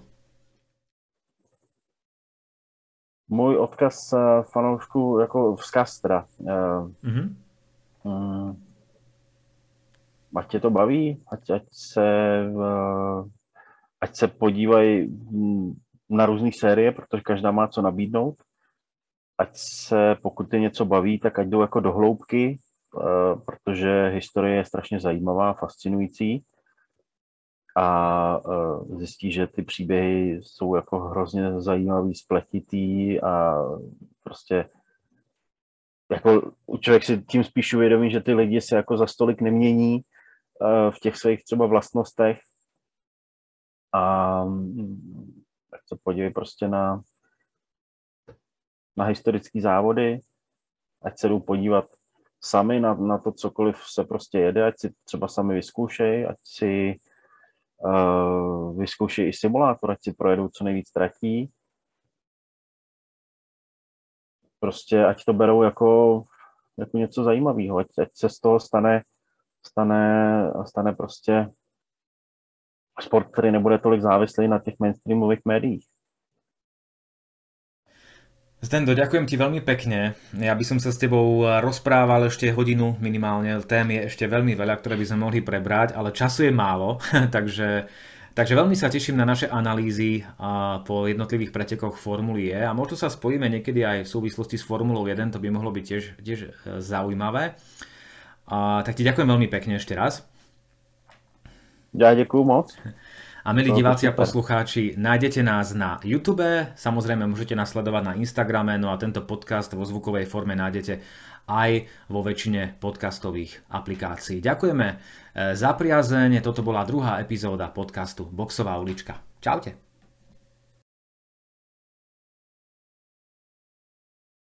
Můj odkaz fanoušku, jako vzkaz teda. Ať tě to baví, ať se podívají na různé série, protože každá má co nabídnout. Ať se, pokud je něco baví, tak ať jdou jako do hloubky, protože historie je strašně zajímavá, fascinující. A zjistí, že ty příběhy jsou jako hrozně zajímavý, spletitý a prostě jako člověk si tím spíš uvědomí, že ty lidi se jako za stolik nemění v těch svých třeba vlastnostech a tak se podívej prostě na historické závody, ať se jdou podívat sami na to, cokoliv se prostě jede, ať si třeba sami vyzkoušej, ať si vyzkoušej i simulátor, ať si projedou co nejvíc tratí. Prostě ať to berou jako něco zajímavého, ať se z toho stane prostě sport, který nebude tolik závislý na těch mainstreamových médiích. Zdendo, ďakujem ti veľmi pekne. Ja by som sa s tebou rozprával ešte hodinu minimálne. Tém je ešte veľmi veľa, ktoré by sme mohli prebrať, ale času je málo, takže veľmi sa teším na naše analýzy po jednotlivých pretekoch Formuly E a možno sa spojíme niekedy aj v súvislosti s Formulou 1, to by mohlo byť tiež zaujímavé. Tak ti ďakujem veľmi pekne ešte raz. Ja ďakujem moc. A milí diváci a poslucháči, nájdete nás na YouTube, samozrejme môžete nás sledovať na Instagrame, no a tento podcast vo zvukovej forme nájdete aj vo väčšine podcastových aplikácií. Ďakujeme za priazeň, toto bola druhá epizóda podcastu Boxová ulička. Čaute.